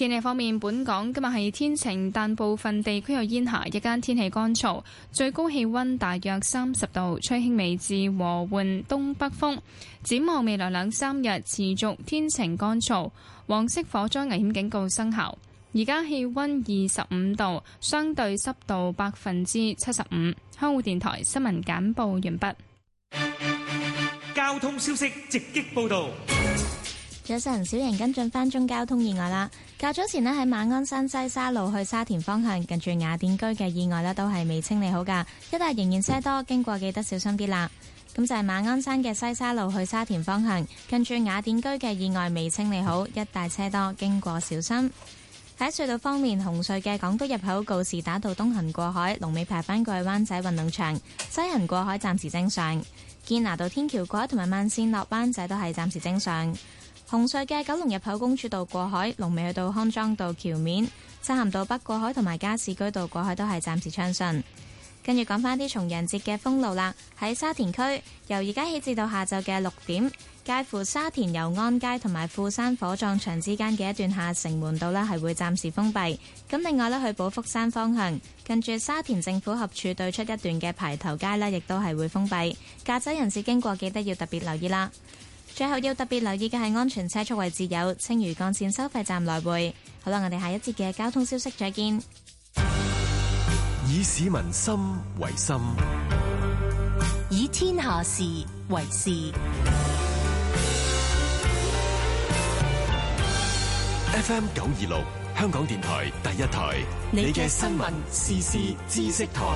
天氣方面，本港今日係天晴，但部分地區有煙霞，日間天氣乾燥，最高氣溫大約三十度，吹輕微至和緩東北風。展望未來兩三日持續天晴乾燥，黃色火災危險警告生效。而家氣溫二十五度，相對濕度百分之七十五。香港電台新聞簡報完畢。 交通消息直擊報道。 早晨，小瑩跟進翻宗交通意外啦。較早前呢，喺馬鞍山西沙路去沙田方向，近住雅典居嘅意外呢都係未清理好噶，一帶仍然車多，經過記得小心啲啦。咁就係馬鞍山嘅西沙路去沙田方向，近住雅典居嘅意外未清理好，一帶車多，經過小心。喺隧道方面，紅隧嘅港島入口告士打道東行過海，龍尾排返過去灣仔運動場；西行過海暫時正常。堅拿道天橋過海同埋慢線落灣仔都係暫時正常。紅隧嘅九龍入口公主道過海，龍尾去到康莊道橋面；漆咸道北過海同埋加士居道過海都係暫時暢順。跟住講返啲重陽節嘅封路啦，喺沙田區由而家起至到下晝嘅六點，介乎沙田油安街同埋富山火葬場之間嘅一段下城門道呢係會暫時封閉。咁另外呢，去寶福山方向近住沙田政府合署對出一段嘅排頭街呢亦都係會封閉。駕駛人士經過記得要特別留意啦。最後要特別留意嘅係安全車速位置有青嶼幹線收費站來回。好啦，我哋下一節嘅交通消息再見。 以市民心為心， 以天下事為事。 F M 九二六香港電台第一台，你嘅新聞時事知識台。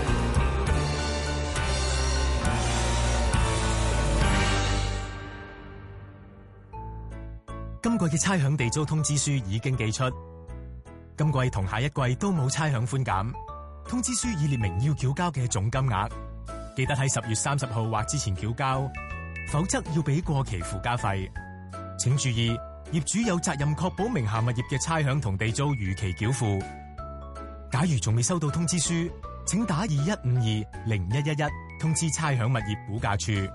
今季嘅差餉地租通知書已經寄出，今季同下一季都冇差餉寬減。通知書已列明要繳交嘅總金額，記得喺十月三十號或之前繳交，否則要俾過期附加費。請注意，業主有責任確保名下物業嘅差餉同地租如期繳付。假如仲未收到通知書，請打二一五二零一一一通知差餉物業估價處。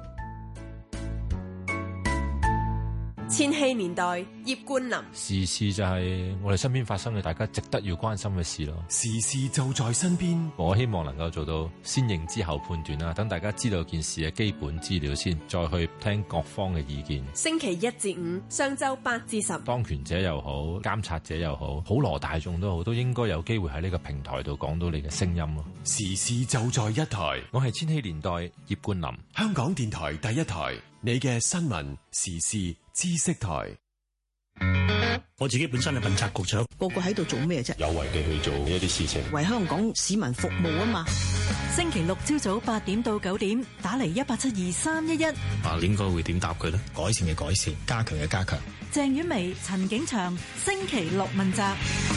千禧年代葉冠霖， 時事就係我哋身邊發生嘅大家值得要關心嘅事咯。 時事就在身邊， 我希望能夠做到先認知後判斷啦，等大家知道件事嘅基本資料先，再去聽各方嘅意見。 星期一至五上晝八至十， 當權者又好，監察者又好，普羅大眾都好，都應該有機會喺呢個平台度講到你嘅聲音咯。 時事就在一台， 我係千禧年代葉冠霖， 香港電台第一台，你嘅新聞時事知識台。 我自己本身係問責局長， 個個喺度做咩啫？ 有為地去做一啲事情， 為香港市民服務啊嘛。 星期六朝早八點到九點，打嚟一八七二三一一。 啊，應該會點答佢呢？改善嘅改善，加強嘅加強。 鄭婉薇、陳景祥，星期六問責。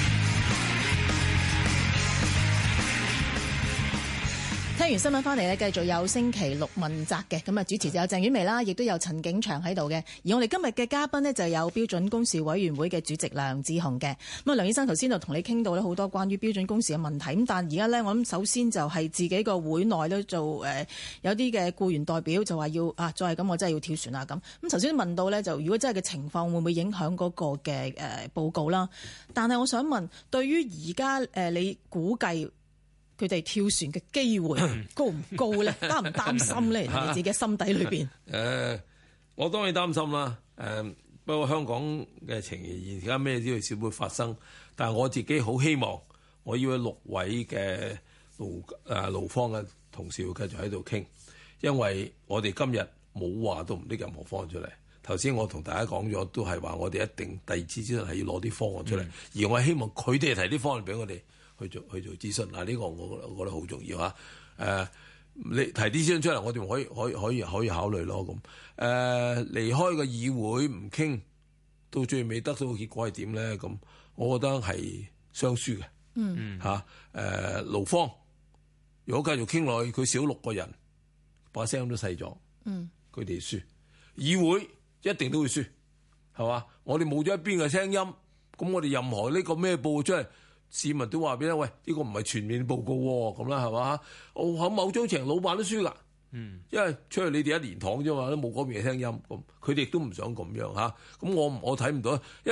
聽完新聞翻嚟咧，繼續有星期六問責嘅，咁啊主持就有鄭婉薇啦，亦都有陳景祥喺度嘅。而我哋今日嘅嘉賓呢，就有標準工時委員會嘅主席梁智鴻嘅。咁啊，梁醫生頭先就同你傾到咧好多關於標準工時嘅問題，咁但係而家咧，我諗首先就係自己個會內咧做誒、呃、有啲嘅僱員代表就話要啊，再係咁我真係要跳船啊咁。咁頭先問到咧，就如果真係嘅情況會唔會影響嗰個嘅誒、呃、報告啦？但係我想問，對於而家誒你估計佢哋跳船嘅機會高唔高咧？擔唔擔心咧？你自己心底裏邊？誒、 呃，我當然擔心啦。誒、呃，不過香港嘅情形而家咩都少會發生，但係我自己好希望，我要六位嘅勞誒勞方嘅同事要繼續喺度傾，因為我哋今日冇話到唔拎任何方案出嚟。頭先我同大家講咗，都係話我哋一定第二次之後係要攞啲方案出嚟，嗯、而我係希望佢哋提啲方案俾我哋。去做去做諮詢嗱，呢個我我覺得好重要嚇。誒、啊，你提啲諮詢出嚟，我哋可以可以可以可以考慮咯。咁、啊、誒，離開個議會唔傾，到最尾得到嘅結果係點咧？咁我覺得係雙輸嘅。嗯嚇誒，勞方如果繼續傾落去，佢少六個人，把聲都細咗。嗯，佢哋輸，議會一定都會輸，係嘛？我哋冇咗一邊嘅聲音，咁我哋任何呢個咩報出嚟？市民都話俾你喂，呢、這個唔係全面報告喎，咁啦係嘛？哦，喺某種程度老闆都輸㗎，嗯，因為出去你哋一年堂啫嘛，都冇嗰邊嘅聲音，咁佢哋亦都唔想咁樣嚇。咁、啊、我我睇唔到，因為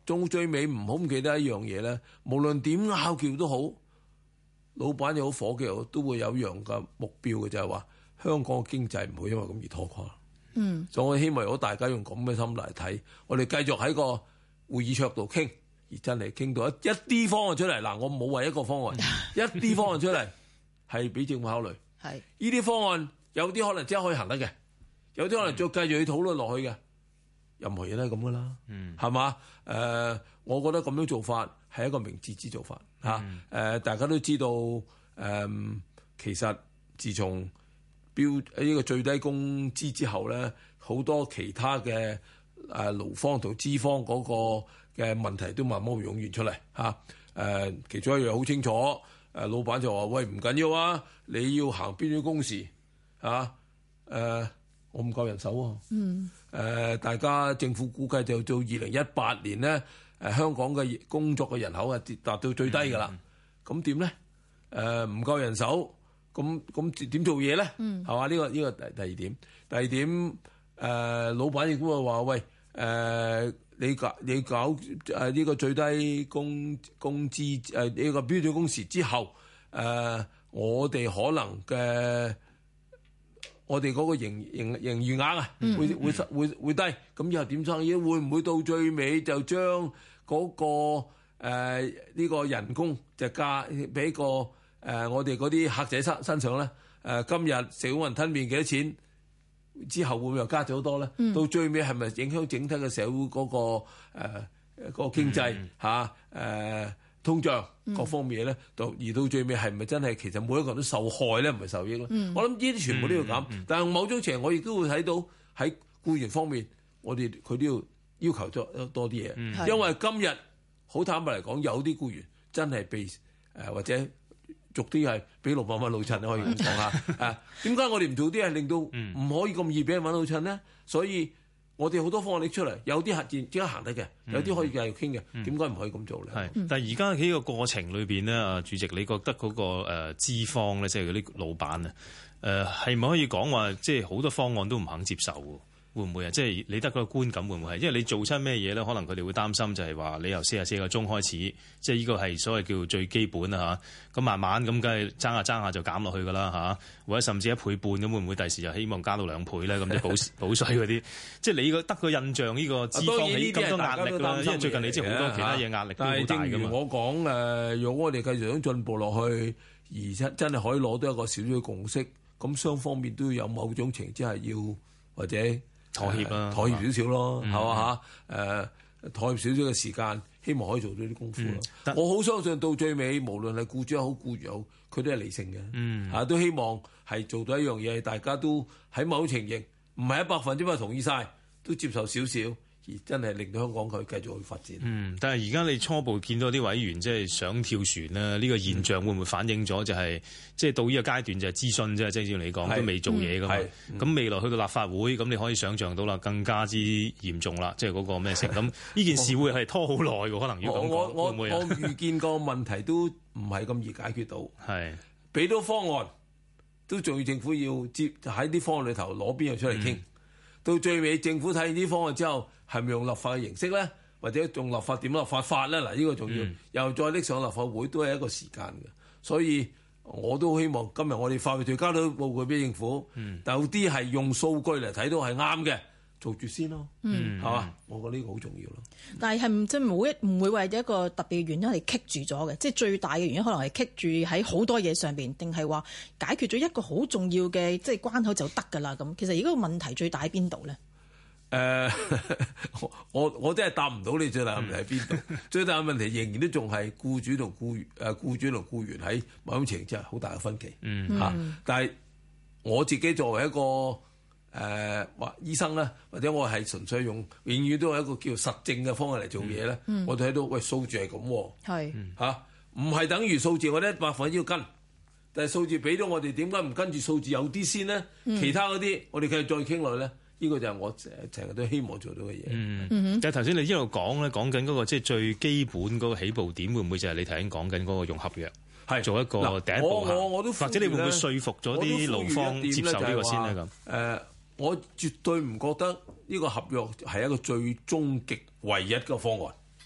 中最尾唔好唔記得一樣嘢咧，無論點拗撬都好，老闆又好，伙計又好，都會有一樣嘅目標嘅，就係話香港嘅經濟唔會因為咁而拖垮。 嗯，所以我希望如果大家用咁嘅心嚟睇，我哋繼續喺個會議桌度傾，而真係傾到一一啲方案出嚟。嗱，我冇話一個方案，一啲方案出嚟係俾政府考慮。 係呢啲方案有啲可能即刻可以行得嘅，有啲可能再繼續去討論落去嘅。任何嘢都係咁噶啦， 嗯， 係嘛？誒、呃，我覺得咁樣做法係一個明智之做法嚇。誒、嗯呃，大家都知道誒、呃，其實自從標呢個最低工資之後咧，好多其他嘅誒、呃、勞方同資方嗰個嘅問題都慢慢會湧現出嚟嚇。誒、啊呃，其中一樣好清楚，誒、呃、老闆就話：喂，唔緊要啊，你要行標準工時嚇。誒、啊呃，我唔夠人手喎、啊。嗯。誒、呃，大家政府估計就到二零一八年咧，誒、呃、香港嘅工作嘅人口係跌達到最低㗎啦。咁點咧？誒、呃、唔夠人手，咁咁點做嘢咧？係嘛？呢、這個呢、這個第第二點。第二點，誒、呃、老闆亦都會話：喂，誒、呃、你搞你搞誒呢、呃這個最低工工資誒呢個標準工時之後，誒、呃、我哋可能嘅。我哋嗰個營營營業額啊，會會會會低，咁以後點生意？會唔會到最尾就將嗰、那個誒呢、呃這個人工就加俾個誒、呃、我哋嗰啲客仔身身上咧？誒、呃、今日食碗雲吞麵幾多錢？之後會唔會又加咗好多咧？嗯、到最尾係咪影響整體嘅社會嗰、那個誒、呃那個經濟嚇誒？嗯啊呃通脹各方面咧，到、嗯、而到最尾係咪真係其實每一個人都受害咧，唔係受益咯？嗯、我諗呢啲全部都要咁，嗯嗯、但係某種程度我亦都會睇到喺僱員方面，我哋佢都要要求多多啲嘢，嗯、因為今日好坦白嚟講，有啲僱員真係被誒、呃、或者逐啲係俾六百蚊老襯，可以咁講下啊？點解我哋唔做啲係令到唔可以咁易俾人揾老襯咧？所以。我哋好多方案拎出嚟，有啲核戰即刻行得嘅，有啲可以繼續傾嘅，點解唔可以咁做咧？ 係，但係而家喺呢個過程裏邊咧，啊主席，你覺得嗰、那個誒資方咧，即係嗰啲老闆啊，誒係咪可以講話，即係好多方案都唔肯接受喎？會唔會啊？即係你得嗰個觀感會唔會係？因為你做親咩嘢咧？可能佢哋會擔心就係話你由四十四個鐘開始，即係呢個係所謂叫最基本啊嚇。咁慢慢咁梗係爭下爭下就減落去㗎啦嚇，或者甚至一倍半咁會唔會第時就希望加到兩倍咧？咁即係補補稅嗰啲，即係你個得個印象呢個資方起咁多壓力啦。因為最近你知好多其他嘢壓力都好大㗎嘛。 但係正如我講誒，如果我哋繼續想進步落去，而真真係可以攞到一個少少嘅共識，咁雙方面都有某種情之係要或者。 妥協啦、啊， 妥協少少咯，係嘛嚇？誒，妥協少少嘅時間，希望可以做到啲功夫咯。嗯、我好相信到最尾，無論係僱主又好，僱員又好，佢都係理性嘅。嗯，嚇、啊、都希望係做到一樣嘢，大家都喺某情形，唔係一百分之百同意晒，都接受少少。而真係令到香港佢繼續去發展。 嗯，但係而家你初步見到啲委員即係想跳船啦，呢、呢個現象會唔會反映咗就係即係到呢個階段就係諮詢啫？即係照你講都未做嘢㗎嘛。咁、嗯、未來去到立法會，咁你可以想像到啦，更加之嚴重啦，即係嗰個咩成咁？呢件事會係拖好耐㗎，可能要咁講，會唔會啊？ 我預見個問題都唔係咁易解決到。係俾到方案，都仲要政府要接喺啲方案裏頭攞邊樣出嚟傾。嗯、到最尾政府睇完啲方案之後，係咪用立法嘅形式咧，或者用立法點立法法咧？嗱，呢、呢個重要，嗯、又再拎上立法會都係一個時間嘅。所以我都希望今日我哋法律條交到報告俾政府，嗯、有啲係用數據嚟睇到係啱嘅，做住先咯，係嘛、嗯？我覺得呢個好重要咯。 但係係唔即係冇一唔會為一個特別嘅原因係棘住咗嘅，即係最大嘅原因可能係棘住喺好多嘢上邊，定係話解決咗一個好重要嘅即係關口就得㗎啦咁。其實而家個問題最大喺邊度咧？ 誒、呃，我我真係答唔到你最大問題喺邊度？嗯、最大嘅問題仍然都仲係僱主同僱員誒，僱主同僱員喺某種程度之下好大嘅分歧。嗯，嚇、啊！但係我自己作為一個誒或、呃、醫生咧，或者我係純粹用永遠都係一個叫實證嘅方法嚟做嘢咧。嗯、我睇到喂數字係咁，係嚇，唔係等於數字我哋一百分之一要跟，但係數字俾到我哋點解唔跟住數字有啲先咧？嗯、其他嗰啲我哋繼續再傾落去咧。呢個就係我成日都希望做到嘅嘢。嗯， 嗯但係頭先你一路講咧，講緊嗰個即係最基本嗰個起步點，會唔會就係你頭先講緊嗰個用合約係做一個第一步行？我我都或者你會唔會說服咗啲勞方接受呢個先咧？咁誒、 呃，我絕對唔覺得呢個合約係一個最終極唯一嘅方案。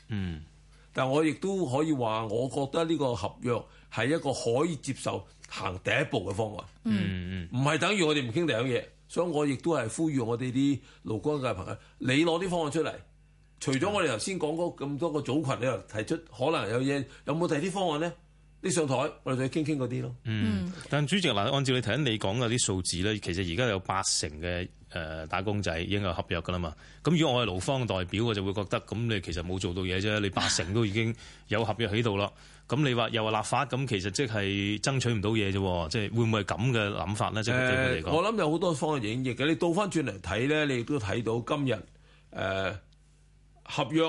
嗯，但我亦都可以話，我覺得呢個合約係一個可以接受行第一步嘅方案。 嗯嗯，唔係等於我哋唔傾第二樣嘢，所以我亦都係呼籲我哋啲勞工界朋友，你攞啲方案出嚟。除咗我哋頭先講嗰咁多個組群，你又提出可能有嘢，有冇第二啲方案咧？你上台，我哋再傾傾嗰啲咯。 嗯，但主席嗱，按照你頭先你講嘅啲數字咧，其實而家有八成嘅誒打工仔已經有合約噶啦嘛。咁如果我係勞方代表，我就會覺得咁你其實冇做到嘢啫。你八成都已經有合約喺度啦。咁你話又話立法，咁其實即係爭取唔到嘢啫。即係會唔會係咁嘅諗法咧？即係對佢嚟講， 我諗有好多方案影譯嘅。你倒翻轉嚟睇咧，你亦都睇到今日誒。呃合約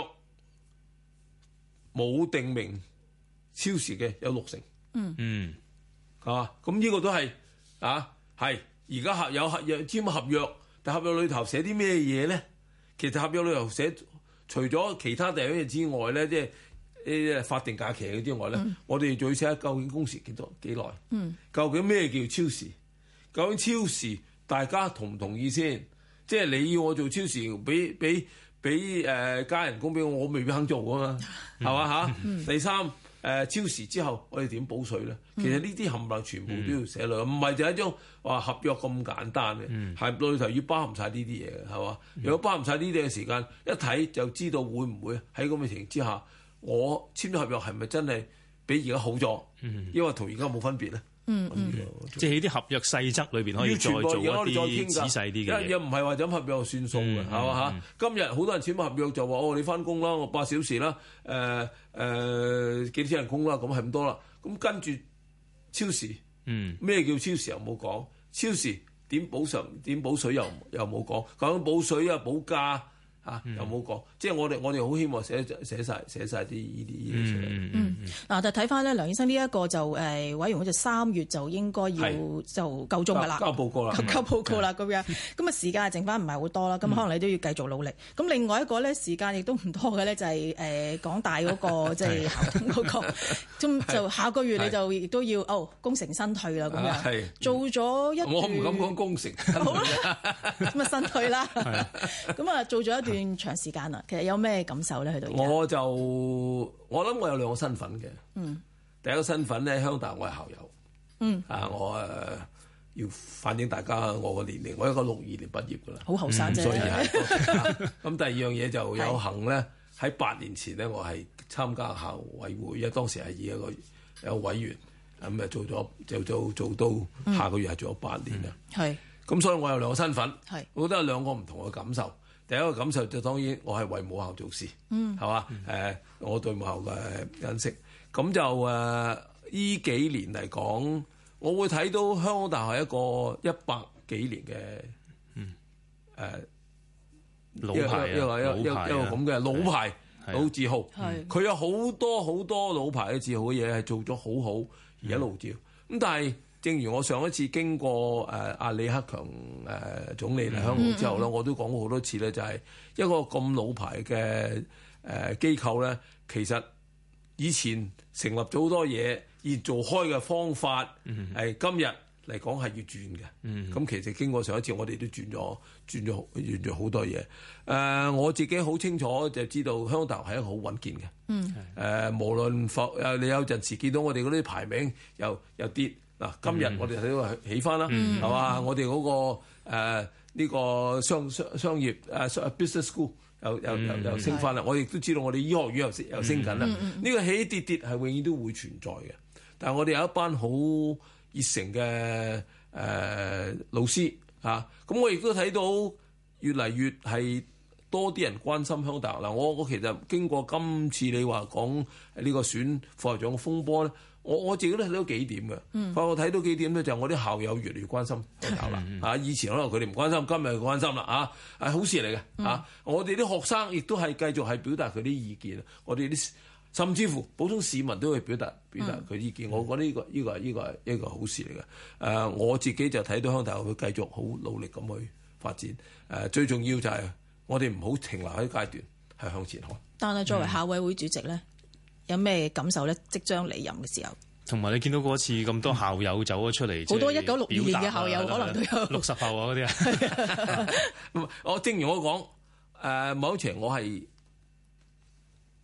冇定明超時嘅有六成， 嗯嗯， 係嘛？咁呢個都係啊，係而家合有合約簽合約，但合約裏頭寫啲咩嘢咧？其實合約裏頭寫除咗其他第二樣嘢之外咧，即係啲法定假期嘅之外咧，嗯、我哋仲要寫究竟工時幾多幾耐？嗯，究竟咩叫超時？究竟超時大家同唔同意先？即係你要我做超時，俾俾。俾誒、呃、加人工俾我，我未必肯做㗎嘛，係嘛嚇？第三誒、呃、超時之後，我哋點補稅咧？其實呢啲冚唪唥全部都要寫落，唔係就係一張話合約咁簡單嘅，係裏頭要包含晒呢啲嘢嘅，係嘛？如果包含晒呢啲嘅時間，一睇就知道會唔會喺咁嘅情形之下，我簽咗合約係咪真係比而家好咗？因為同而家冇分別咧。 嗯嗯，即係喺啲合約細則裏邊可以再做一啲仔細啲嘅嘢， 又唔係話就咁合約就算數嘅，係嘛嚇？今日好多人簽合約就話哦，你翻工啦，我八小時啦，誒、呃、誒、呃、幾錢人工啦，咁係咁多啦。咁跟住超時，嗯，咩叫超時又冇講？超時點補償點補水又又冇講，講補水啊補價。啊，又冇講，即係我哋我哋好希望寫寫曬寫曬啲呢啲呢啲出嚟。 嗯嗯嗱，但係睇翻咧，梁醫生呢一個就誒、呃、委員會就三月就應該要就夠鐘㗎啦， 交報告啦， 交報告啦咁樣。咁啊時間剩翻唔係好多啦，咁、嗯、可能你都要繼續努力。咁、嗯、另外一個咧時間亦都唔多嘅咧，就係誒港大嗰、那個即係校董嗰個，咁就下個月你就亦都要哦功成身退啦咁樣。做咗一段我唔敢講功成， 好啦，咁啊身退啦。咁啊做咗一段長時間啦，其實有咩感受咧？去到我就我諗我有兩個身份嘅。 嗯， 第一個身份咧，香大我係校友。 嗯， 啊，我誒、呃、要反映大家我個年齡，我一個六二年畢業噶啦， 好後生啫。 所以係咁。第二樣嘢就有幸咧，喺八年前咧，我係參加校委會，因為當時係以一個有委員咁誒做咗，就做做到下個月係做咗八年啦。 係、嗯。咁所以我有兩個身份， 係， 我覺得有兩個唔同嘅感受。第一個感受就當然我係為母校做事， 嗯， 係嘛？誒、嗯呃，我對母校嘅認識，咁就誒呢、呃、幾年嚟講，我會睇到香港大學係一個一百幾年嘅，嗯，誒、呃、 老牌啊， 一個一個一個咁嘅老牌老字號，佢有好多好多老牌嘅字號嘅嘢係做咗好好，而一路照。咁、嗯、但係正如我上一次經過誒阿、呃、李克強誒、呃、總理嚟香港之後咧、嗯嗯，我都講過好多次咧，就係、是、一個咁老牌嘅誒機構咧，其實以前成立咗好多嘢，而做開嘅方法係、嗯呃、今日嚟講係要轉嘅。咁、嗯、其實經過上一次，我哋都轉咗轉咗轉咗好多嘢。誒、呃，我自己好清楚就知道香港大學係一個好穩健嘅。嗯。誒、呃，無論否誒，你有陣時見到我哋嗰啲排名又又跌。嗱，今日我哋睇到係起翻啦，係、嗯、嘛？我哋嗰、那個誒呢、呃這個商商商業誒、啊、business school 又又又又升翻啦。我亦都知道我哋醫學院又升又升緊啦。呢、嗯這個起跌跌係永遠都會存在嘅。但係我哋有一班好熱誠嘅誒老師嚇，咁、啊、我亦都睇到越嚟越係多啲人關心香港大學。嗱，我我其實經過今次你話講呢個選副校長嘅風波咧。我我自己都睇到幾點嘅，嗯，我睇到幾點咧，就係我啲校友越嚟越關心香港大學啦，嚇、嗯！以前可能佢哋唔關心，今日關心啦，嚇，係好事嚟嘅，嚇、嗯！我哋啲學生亦都係繼續係表達佢啲意見，我哋啲甚至乎普通市民都會表達表達佢意見，嗯、我覺得呢、呢個呢、呢個係呢個係一個好事嚟嘅。誒、呃，我自己就睇到香港大學會繼續好努力咁去發展。誒、呃，最重要就係我哋唔好停留喺階段，係向前看。 但係作為校委會主席咧？嗯有咩感受咧？即將離任嘅時候，同埋你見到嗰次咁多校友走咗出嚟， 好多一九六二年嘅校友可能都有六十後啊嗰啲啊。 我正如我講，誒、呃、某程度我係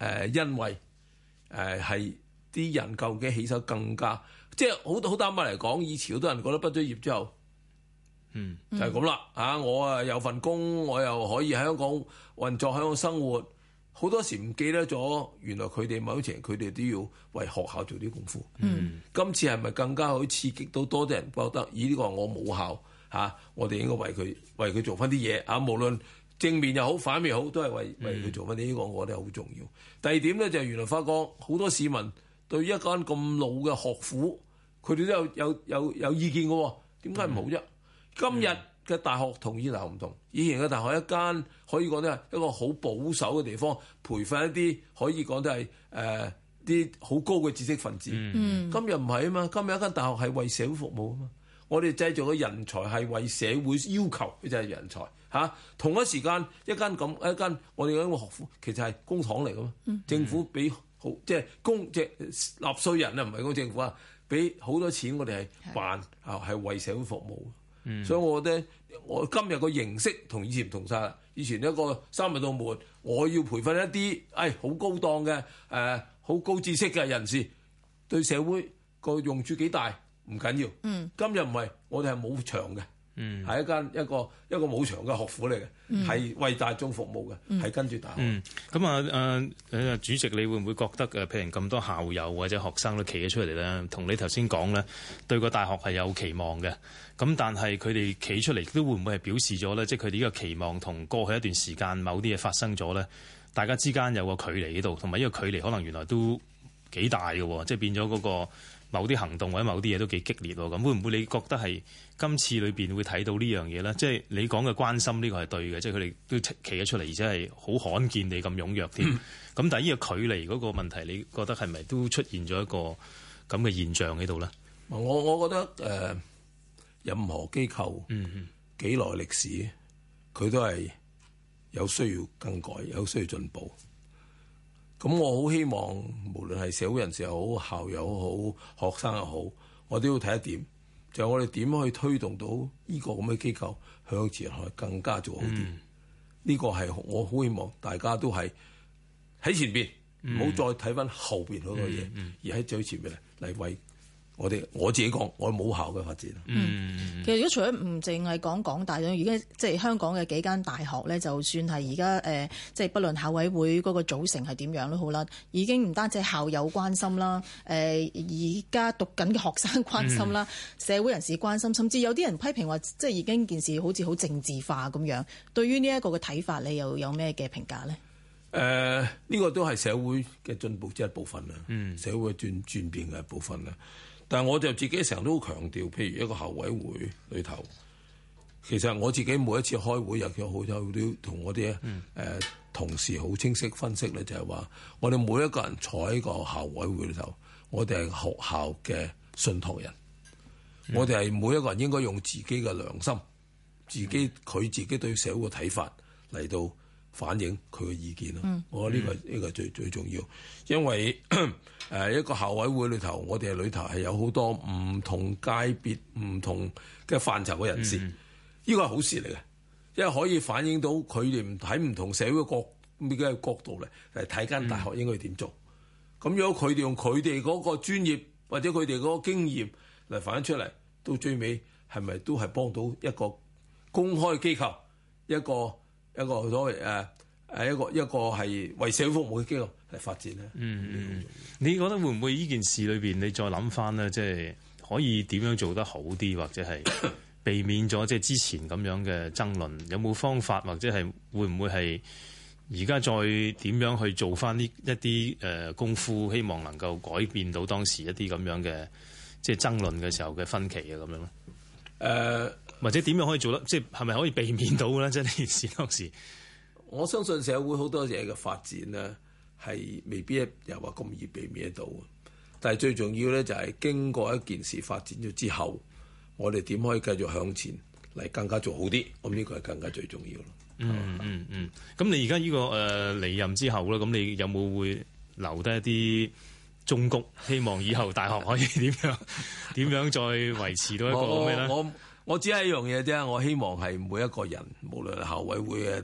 呃、因為誒係啲人究竟起手更加，即係好好坦白嚟講，以前好多人覺得畢咗業之後， 嗯， 就係咁啦嚇，我啊有份工，我又可以喺香港運作，喺香港生活。好多時唔記得咗，原來佢哋某程度佢哋都要為學校做啲功夫。 嗯， 今次係咪更加可以刺激到多啲人覺得，咦呢個我母校嚇、啊，我哋應該為佢為佢做翻啲嘢啊！無論正面又好，反面又好，都係為為佢做翻啲呢個，我覺得好重要。第二點咧就係、是、原來發覺好多市民對一間咁老嘅學府，佢哋都有有有有意見嘅喎，點解唔好啫？嗯、今日嘅大學同以前大學唔同，以前嘅大學一間可以講都係一個好保守嘅地方，培訓一啲可以講都係誒啲好高嘅知識分子。嗯、今日唔係啊嘛，今日一間大學係為社會服務啊嘛，我哋製造嘅人才係為社會要求，佢就係人才嚇、啊。同一時間一間咁一間我哋嗰個學府其實係公帑嚟噶嘛，嗯、政府俾好即係公即係納稅人啊，唔係講政府啊，俾好多錢我哋係辦啊，係為社會服務。嗯、所以我覺得我今日個形式同以前唔同晒啦。以前一個三日到門，我要培訓一啲誒好高檔嘅誒好高知識嘅人士，對社會個用處幾大唔緊要。嗯、今日唔係，我哋係冇牆嘅，係、嗯、一間一個一個冇牆嘅學府嚟嘅，係、嗯、為大眾服務嘅，係、嗯、跟住大學。 咁、嗯、啊誒誒主席，你會唔會覺得誒譬如咁多校友或者學生都企咗出嚟咧，同你頭先講咧，對個大學係有期望嘅？咁但係佢哋企出嚟都會唔會係表示咗咧？即係佢哋呢個期望同過去一段時間某啲嘢發生咗咧，大家之間有個距離喺度，同埋呢個距離可能原來都幾大嘅，即係變咗嗰個某啲行動或者某啲嘢都幾激烈喎。咁會唔會你覺得係今次裏邊會睇到呢樣嘢咧？即係你講嘅關心呢個係對嘅，即係佢哋都企咗出嚟，而且係好罕見地咁踴躍添。咁、嗯、但係呢個距離嗰個問題，你覺得係咪都出現咗一個咁嘅現象喺度咧？ 我我覺得誒。呃任何機構幾耐歷史，佢都係有需要更改，有需要進步。咁我好希望，無論係社會人士又好，校友好，學生又好，我都要睇一點，就係、是、我哋點可以推動到呢個咁嘅機構向前去更加做好啲。呢、嗯、個係我好希望大家都係喺前邊，唔好、嗯、再睇翻後邊嗰個嘢，嗯嗯、而喺最前邊嚟為。我哋我自己講，我母校嘅發展。 嗯，其實如果除咗唔淨係講港大，而家即係香港嘅幾間大學咧，就算係而家誒，即係不論校委會嗰個組成係點樣都好啦，已經唔單止係校友關心啦，誒而家讀緊嘅學生關心啦，嗯、社會人士關心，甚至有啲人批評話，即係已經件事好似好政治化咁樣。對於呢一個嘅睇法，你又有咩嘅評價咧？誒、 呃，呢、呢個都係社會嘅進步之一部分啦，嗯、社會轉轉變嘅一部分啦。但係我就自己成日都好強調，譬如一個校委會裏頭，其實我自己每一次開會，尤其好有都同我啲誒、嗯呃、同事好清晰分析咧，就係話我哋每一個人坐喺個校委會裏頭，我哋係學校嘅信託人，嗯、我哋係每一個人應該用自己嘅良心，自己佢自己對社會嘅睇法嚟到反映佢嘅意見咯。嗯、我覺得呢個呢、呢個最最重要，因為誒一個校委會裏頭，我哋裏頭係有好多唔同界別、唔同嘅範疇嘅人士，呢、嗯、個係好事嚟嘅，因為可以反映到佢哋唔喺唔同社會角嘅角度嚟嚟睇間大學應該點做。咁、嗯、如果佢哋用佢哋嗰個專業或者佢哋嗰個經驗嚟反映出嚟，到最尾係咪都係幫到一個公開機構一個？一個所謂誒誒一個一個係為社會服務嘅機構嚟發展咧。嗯嗯， 你覺得會唔會呢件事裏邊你再諗翻咧，即係可以點樣做得好啲，或者係避免咗即係之前咁樣嘅爭論？有冇方法，或者係會唔會係而家再點樣去做翻呢一啲誒功夫，希望能夠改變到當時一啲咁樣嘅即係爭論嘅時候嘅分歧啊咁樣咧？誒、呃。或者點樣可以做得，即係係咪可以避免到咧？即係呢件事當時， 我相信社會好多嘢嘅發展咧，係未必又話咁易避免得到。但係最重要咧，就係經過一件事發展咗之後，我哋點可以繼續向前嚟更加做好啲？咁呢個係更加最重要咯。 嗯嗯嗯。咁你而家呢個誒離任之後咧，咁你有冇會留低一啲忠告？希望以後大學可以點樣點樣再維持到一個咩咧？ 我我只係一樣嘢啫，我希望係每一個人，無論係校委會嘅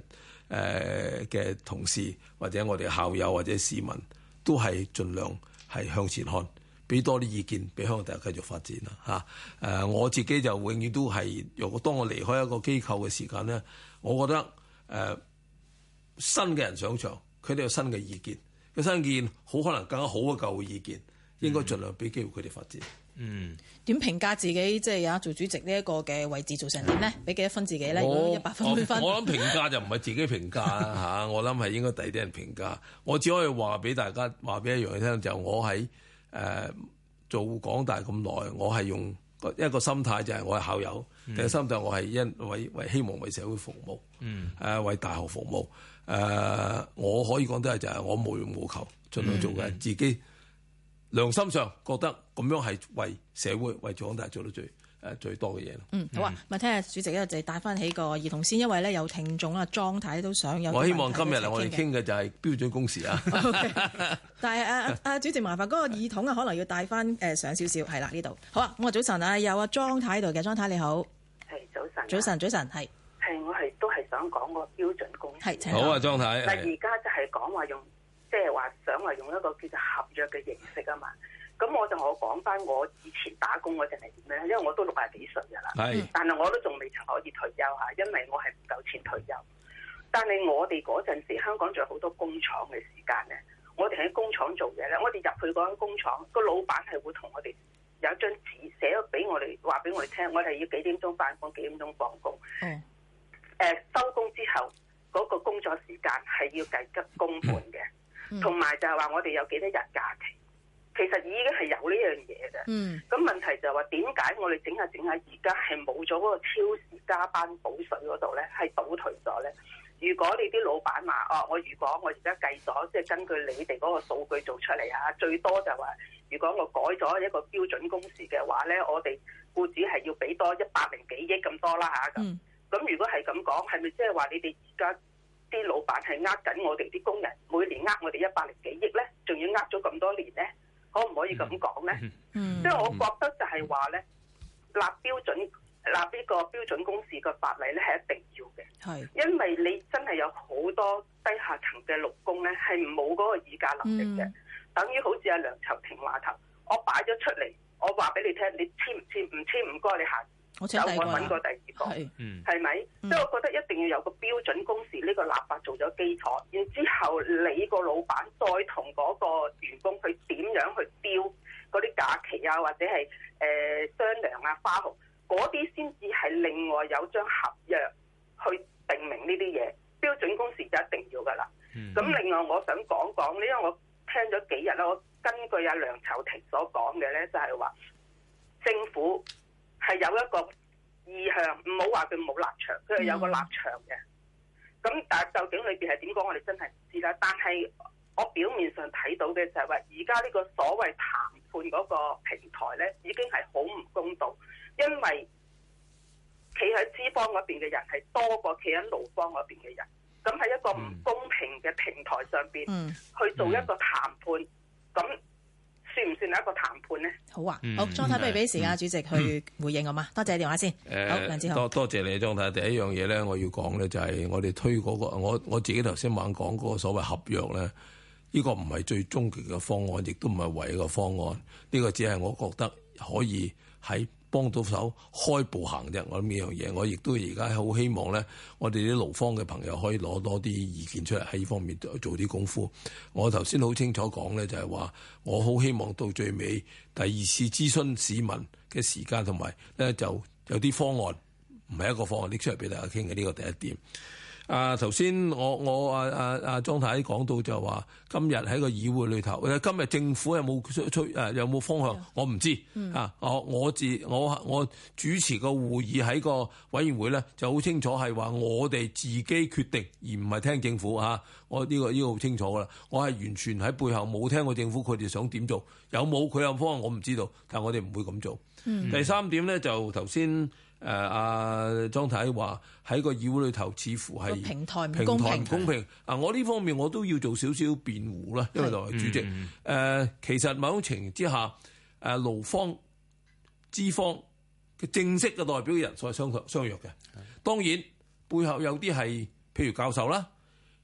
誒嘅同事或者我哋校友或者市民都係盡量係向前看，俾多啲意見俾香港大家繼續發展啦嚇。誒、呃、我自己就永遠都係，如果當我離開一個機構嘅時間咧，我覺得誒、呃、新嘅人上場，佢哋有新嘅意見，個新意見好可能更加好嘅舊嘅意見，應該盡量俾機會佢哋發展。 嗯， 點評價自己即係有做主席呢一個嘅位置做成點咧？俾幾多分自己咧？如果一百分滿分， 我諗評價就唔係自己評價啦嚇，我諗係應該第二啲人評價。我只可以話俾大家話俾一樣嘢聽，就我喺誒、呃、做港大咁耐，我係用一個心態就係我係校友，第二個心態我係因為為希望為社會服務，嗯誒、呃、為大學服務。誒、呃、我可以講得係就係我無欲無求，盡量做嘅、嗯、自己。良心上覺得咁樣係為社會為港大做到最誒、呃、最多嘅嘢咯。 嗯，好啊，咪聽下主席咧就帶翻起個兒童先，因為咧有聽眾啦，莊太都想有。 我希望今日我哋傾嘅就係標準工時啊。 Okay, 但係啊啊主席麻煩嗰個耳筒啊，可能要帶翻誒上少少，係啦呢度。好啊，咁啊早晨啊，有阿莊太喺度嘅，莊太你好。 係早晨。 早晨，早晨係。 係我係都係想講個標準工時。 係， 好啊，莊太。 嗱，而家就係講話用，即係話想話用一個叫做合約嘅形式啊嘛。咁我就我講翻我以前打工嗰陣係點咧，因為我都六廿幾歲㗎啦，但係我都仲未曾可以退休嚇，因為我係唔夠錢退休。但係我哋嗰陣時香港仲有好多工廠嘅時間咧，我哋喺工廠做嘢咧，我哋入去嗰間工廠，個老闆係會同我哋有一張紙寫咗俾我哋，話俾我哋聽，我哋要幾點鐘返工，幾點鐘放工。嗯。誒收工之後嗰個工作時間係要計吉工半嘅，同埋就係話我哋有幾多日假期。其實已經係有呢樣嘢嘅，咁、嗯、問題就係話點解我哋整下整下而家係冇咗嗰個超時加班補水嗰度咧，係倒退咗咧？如果你啲老闆話哦，我如果我而家計咗，即係根據你哋嗰個數據做出嚟啊，最多就話如果我改咗一個標準工時嘅話咧，我哋僱主係要俾多一百零幾億咁多啦嚇咁。咁、嗯、如果係咁講，係咪即係話你哋而家啲老闆係呃緊我哋啲工人，每年呃我哋一百零幾億咧，仲要呃咗咁多年咧？可唔可以咁講咧？嗯，即係我覺得就係話咧，立標準立呢個標準工時嘅法例咧係一定要嘅。係，因為你真係有好多低下層嘅勞工咧係冇嗰個議價能力嘅、嗯，等於好似阿梁籌庭話頭，我擺咗出嚟，我話俾你聽，你簽唔簽？唔簽唔該你下。我有我揾過第二個，係咪？即係、嗯、我覺得一定要有個標準工時呢個立法做咗基礎，然之後你個老闆再同嗰個員工去點樣去標嗰啲假期啊，或者係誒、呃、商量啊、花紅嗰啲，先至係另外有張合約去定明呢啲嘢。標準工時就一定要噶啦。咁、嗯、另外我想講講，因為我聽咗幾日啦，我根據阿梁籌庭所講嘅咧，就係話政府係有一個意向，唔好話佢冇立場，佢係有個立場嘅。咁、嗯、但係究竟裏邊係點講，我哋真係唔知啦。但係我表面上睇到嘅就係話，而家呢個所謂談判嗰個平台咧，已經係好唔公道，因為企喺資方嗰邊嘅人係多過企喺勞方嗰邊嘅人。咁喺一個唔公平嘅平台上邊、嗯、去做一個談判，咁、嗯、算唔算係一個談判咧？好啊， 好，莊太不如俾時間主席去回應好嘛？多謝電話先。 誒， 好，梁志豪， 多多謝你，莊太。第一樣嘢咧，我要講咧就係我哋推嗰、嗰個，我我自己頭先猛講嗰個所謂合約咧，呢、呢個唔係最終極嘅方案，亦都唔係唯一嘅方案。呢、呢個只係我覺得可以喺幫到手開步行啫，我諗呢樣嘢，我亦都而家好希望咧，我哋啲勞方嘅朋友可以攞多啲意見出嚟喺呢方面做啲功夫。我頭先好清楚講咧，就係話我好希望到最尾第二次諮詢市民嘅時間同埋咧，就有啲方案，唔係一個方案拎出嚟俾大家傾嘅，呢個第一點。啊，頭先我我啊啊啊莊太講到就話，今日喺個議會裏頭，今日政府有冇出出誒有冇方向？我唔知、嗯、啊。我我自我我主持個會議喺個委員會咧，就好清楚係話我哋自己決定，而唔係聽政府嚇、啊。我呢、呢個呢、呢個好清楚噶啦。我係完全喺背後冇聽過政府佢哋想點做，有冇佢有方案我唔知道，但係我哋唔會咁做、嗯。第三點咧就頭先。誒阿莊太話喺個議會裏頭，似乎係平台唔公平。 公平啊！我呢方面我都要做少少辯護啦，因為作為主席，誒、嗯呃、其實某種情形之下，誒、呃、勞方、資方嘅正式嘅代表嘅人數係相相約嘅。當然背後有啲係譬如教授啦，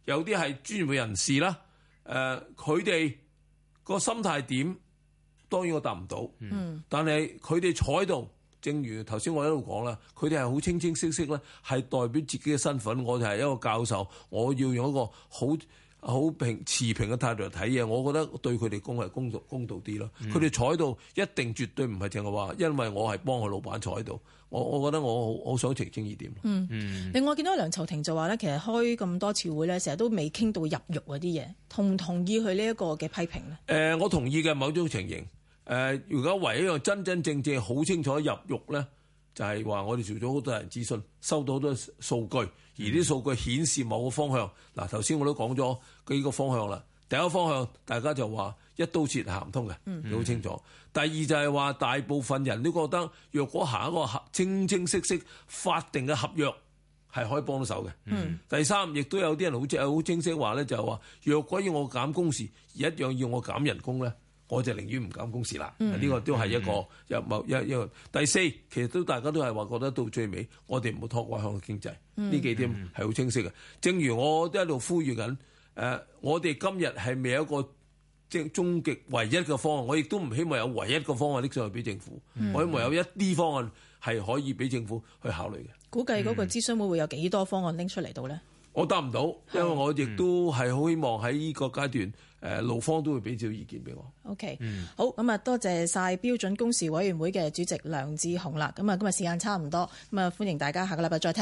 有啲係專業人士啦，誒佢哋個心態點？當然我答唔到，嗯、但係佢哋坐喺度，正如頭先我喺度講啦，佢哋係好清清晰晰咧，係代表自己嘅身份。我哋係一個教授，我要用一個好好平持平嘅態度嚟睇嘢，我覺得對佢哋公係公道公道啲咯。佢哋、嗯、坐喺度一定絕對唔係淨係話，因為我係幫佢老闆坐喺度。我我覺得我好好想澄清呢點。 嗯，嗯另外見到梁籌庭就話咧，其實開咁多次會咧，成日都未傾到入獄嗰啲嘢，同唔同意佢呢一個嘅批評咧？誒、 呃，我同意嘅某種情形。誒、呃，如果唯一一樣真真正正好清楚入獄咧，就係、是、話我哋做咗好多人諮詢，收到好多數據，而啲數據顯示某個方向。嗱，頭先我都講咗幾個方向啦。第一個方向大家就話一刀切行唔通嘅，好、嗯、清楚。第二就係話大部分人都覺得，若果行一個合清清晰晰法定嘅合約係可以幫到手嘅。嗯、第三亦都有啲人好似好清晰話咧，就係話若果要我減工時，而一樣要我減人工咧，我就寧願唔減工時啦。呢、嗯、個都係一個有某一一個。第四其實都大家都係話覺得到最尾，我哋唔好拖垮香港經濟。呢、嗯、幾點係好清晰嘅。正如我都喺度呼籲緊。誒、呃，我哋今日係未有一個即係終極唯一嘅方案，我亦都唔希望有唯一嘅方案拎上去俾政府。嗯、我希望有一啲方案係可以俾政府去考慮嘅。 估計嗰個諮詢會會有幾多方案拎出嚟到咧？ 我答唔到，因為我亦都係好希望喺呢個階段，誒、呃、勞方都會俾少意見俾我。 OK，嗯、好，咁啊，多謝晒標準工時委員會嘅主席梁智鴻啦。咁啊，今日時間差唔多，咁啊，歡迎大家下個禮拜再聽。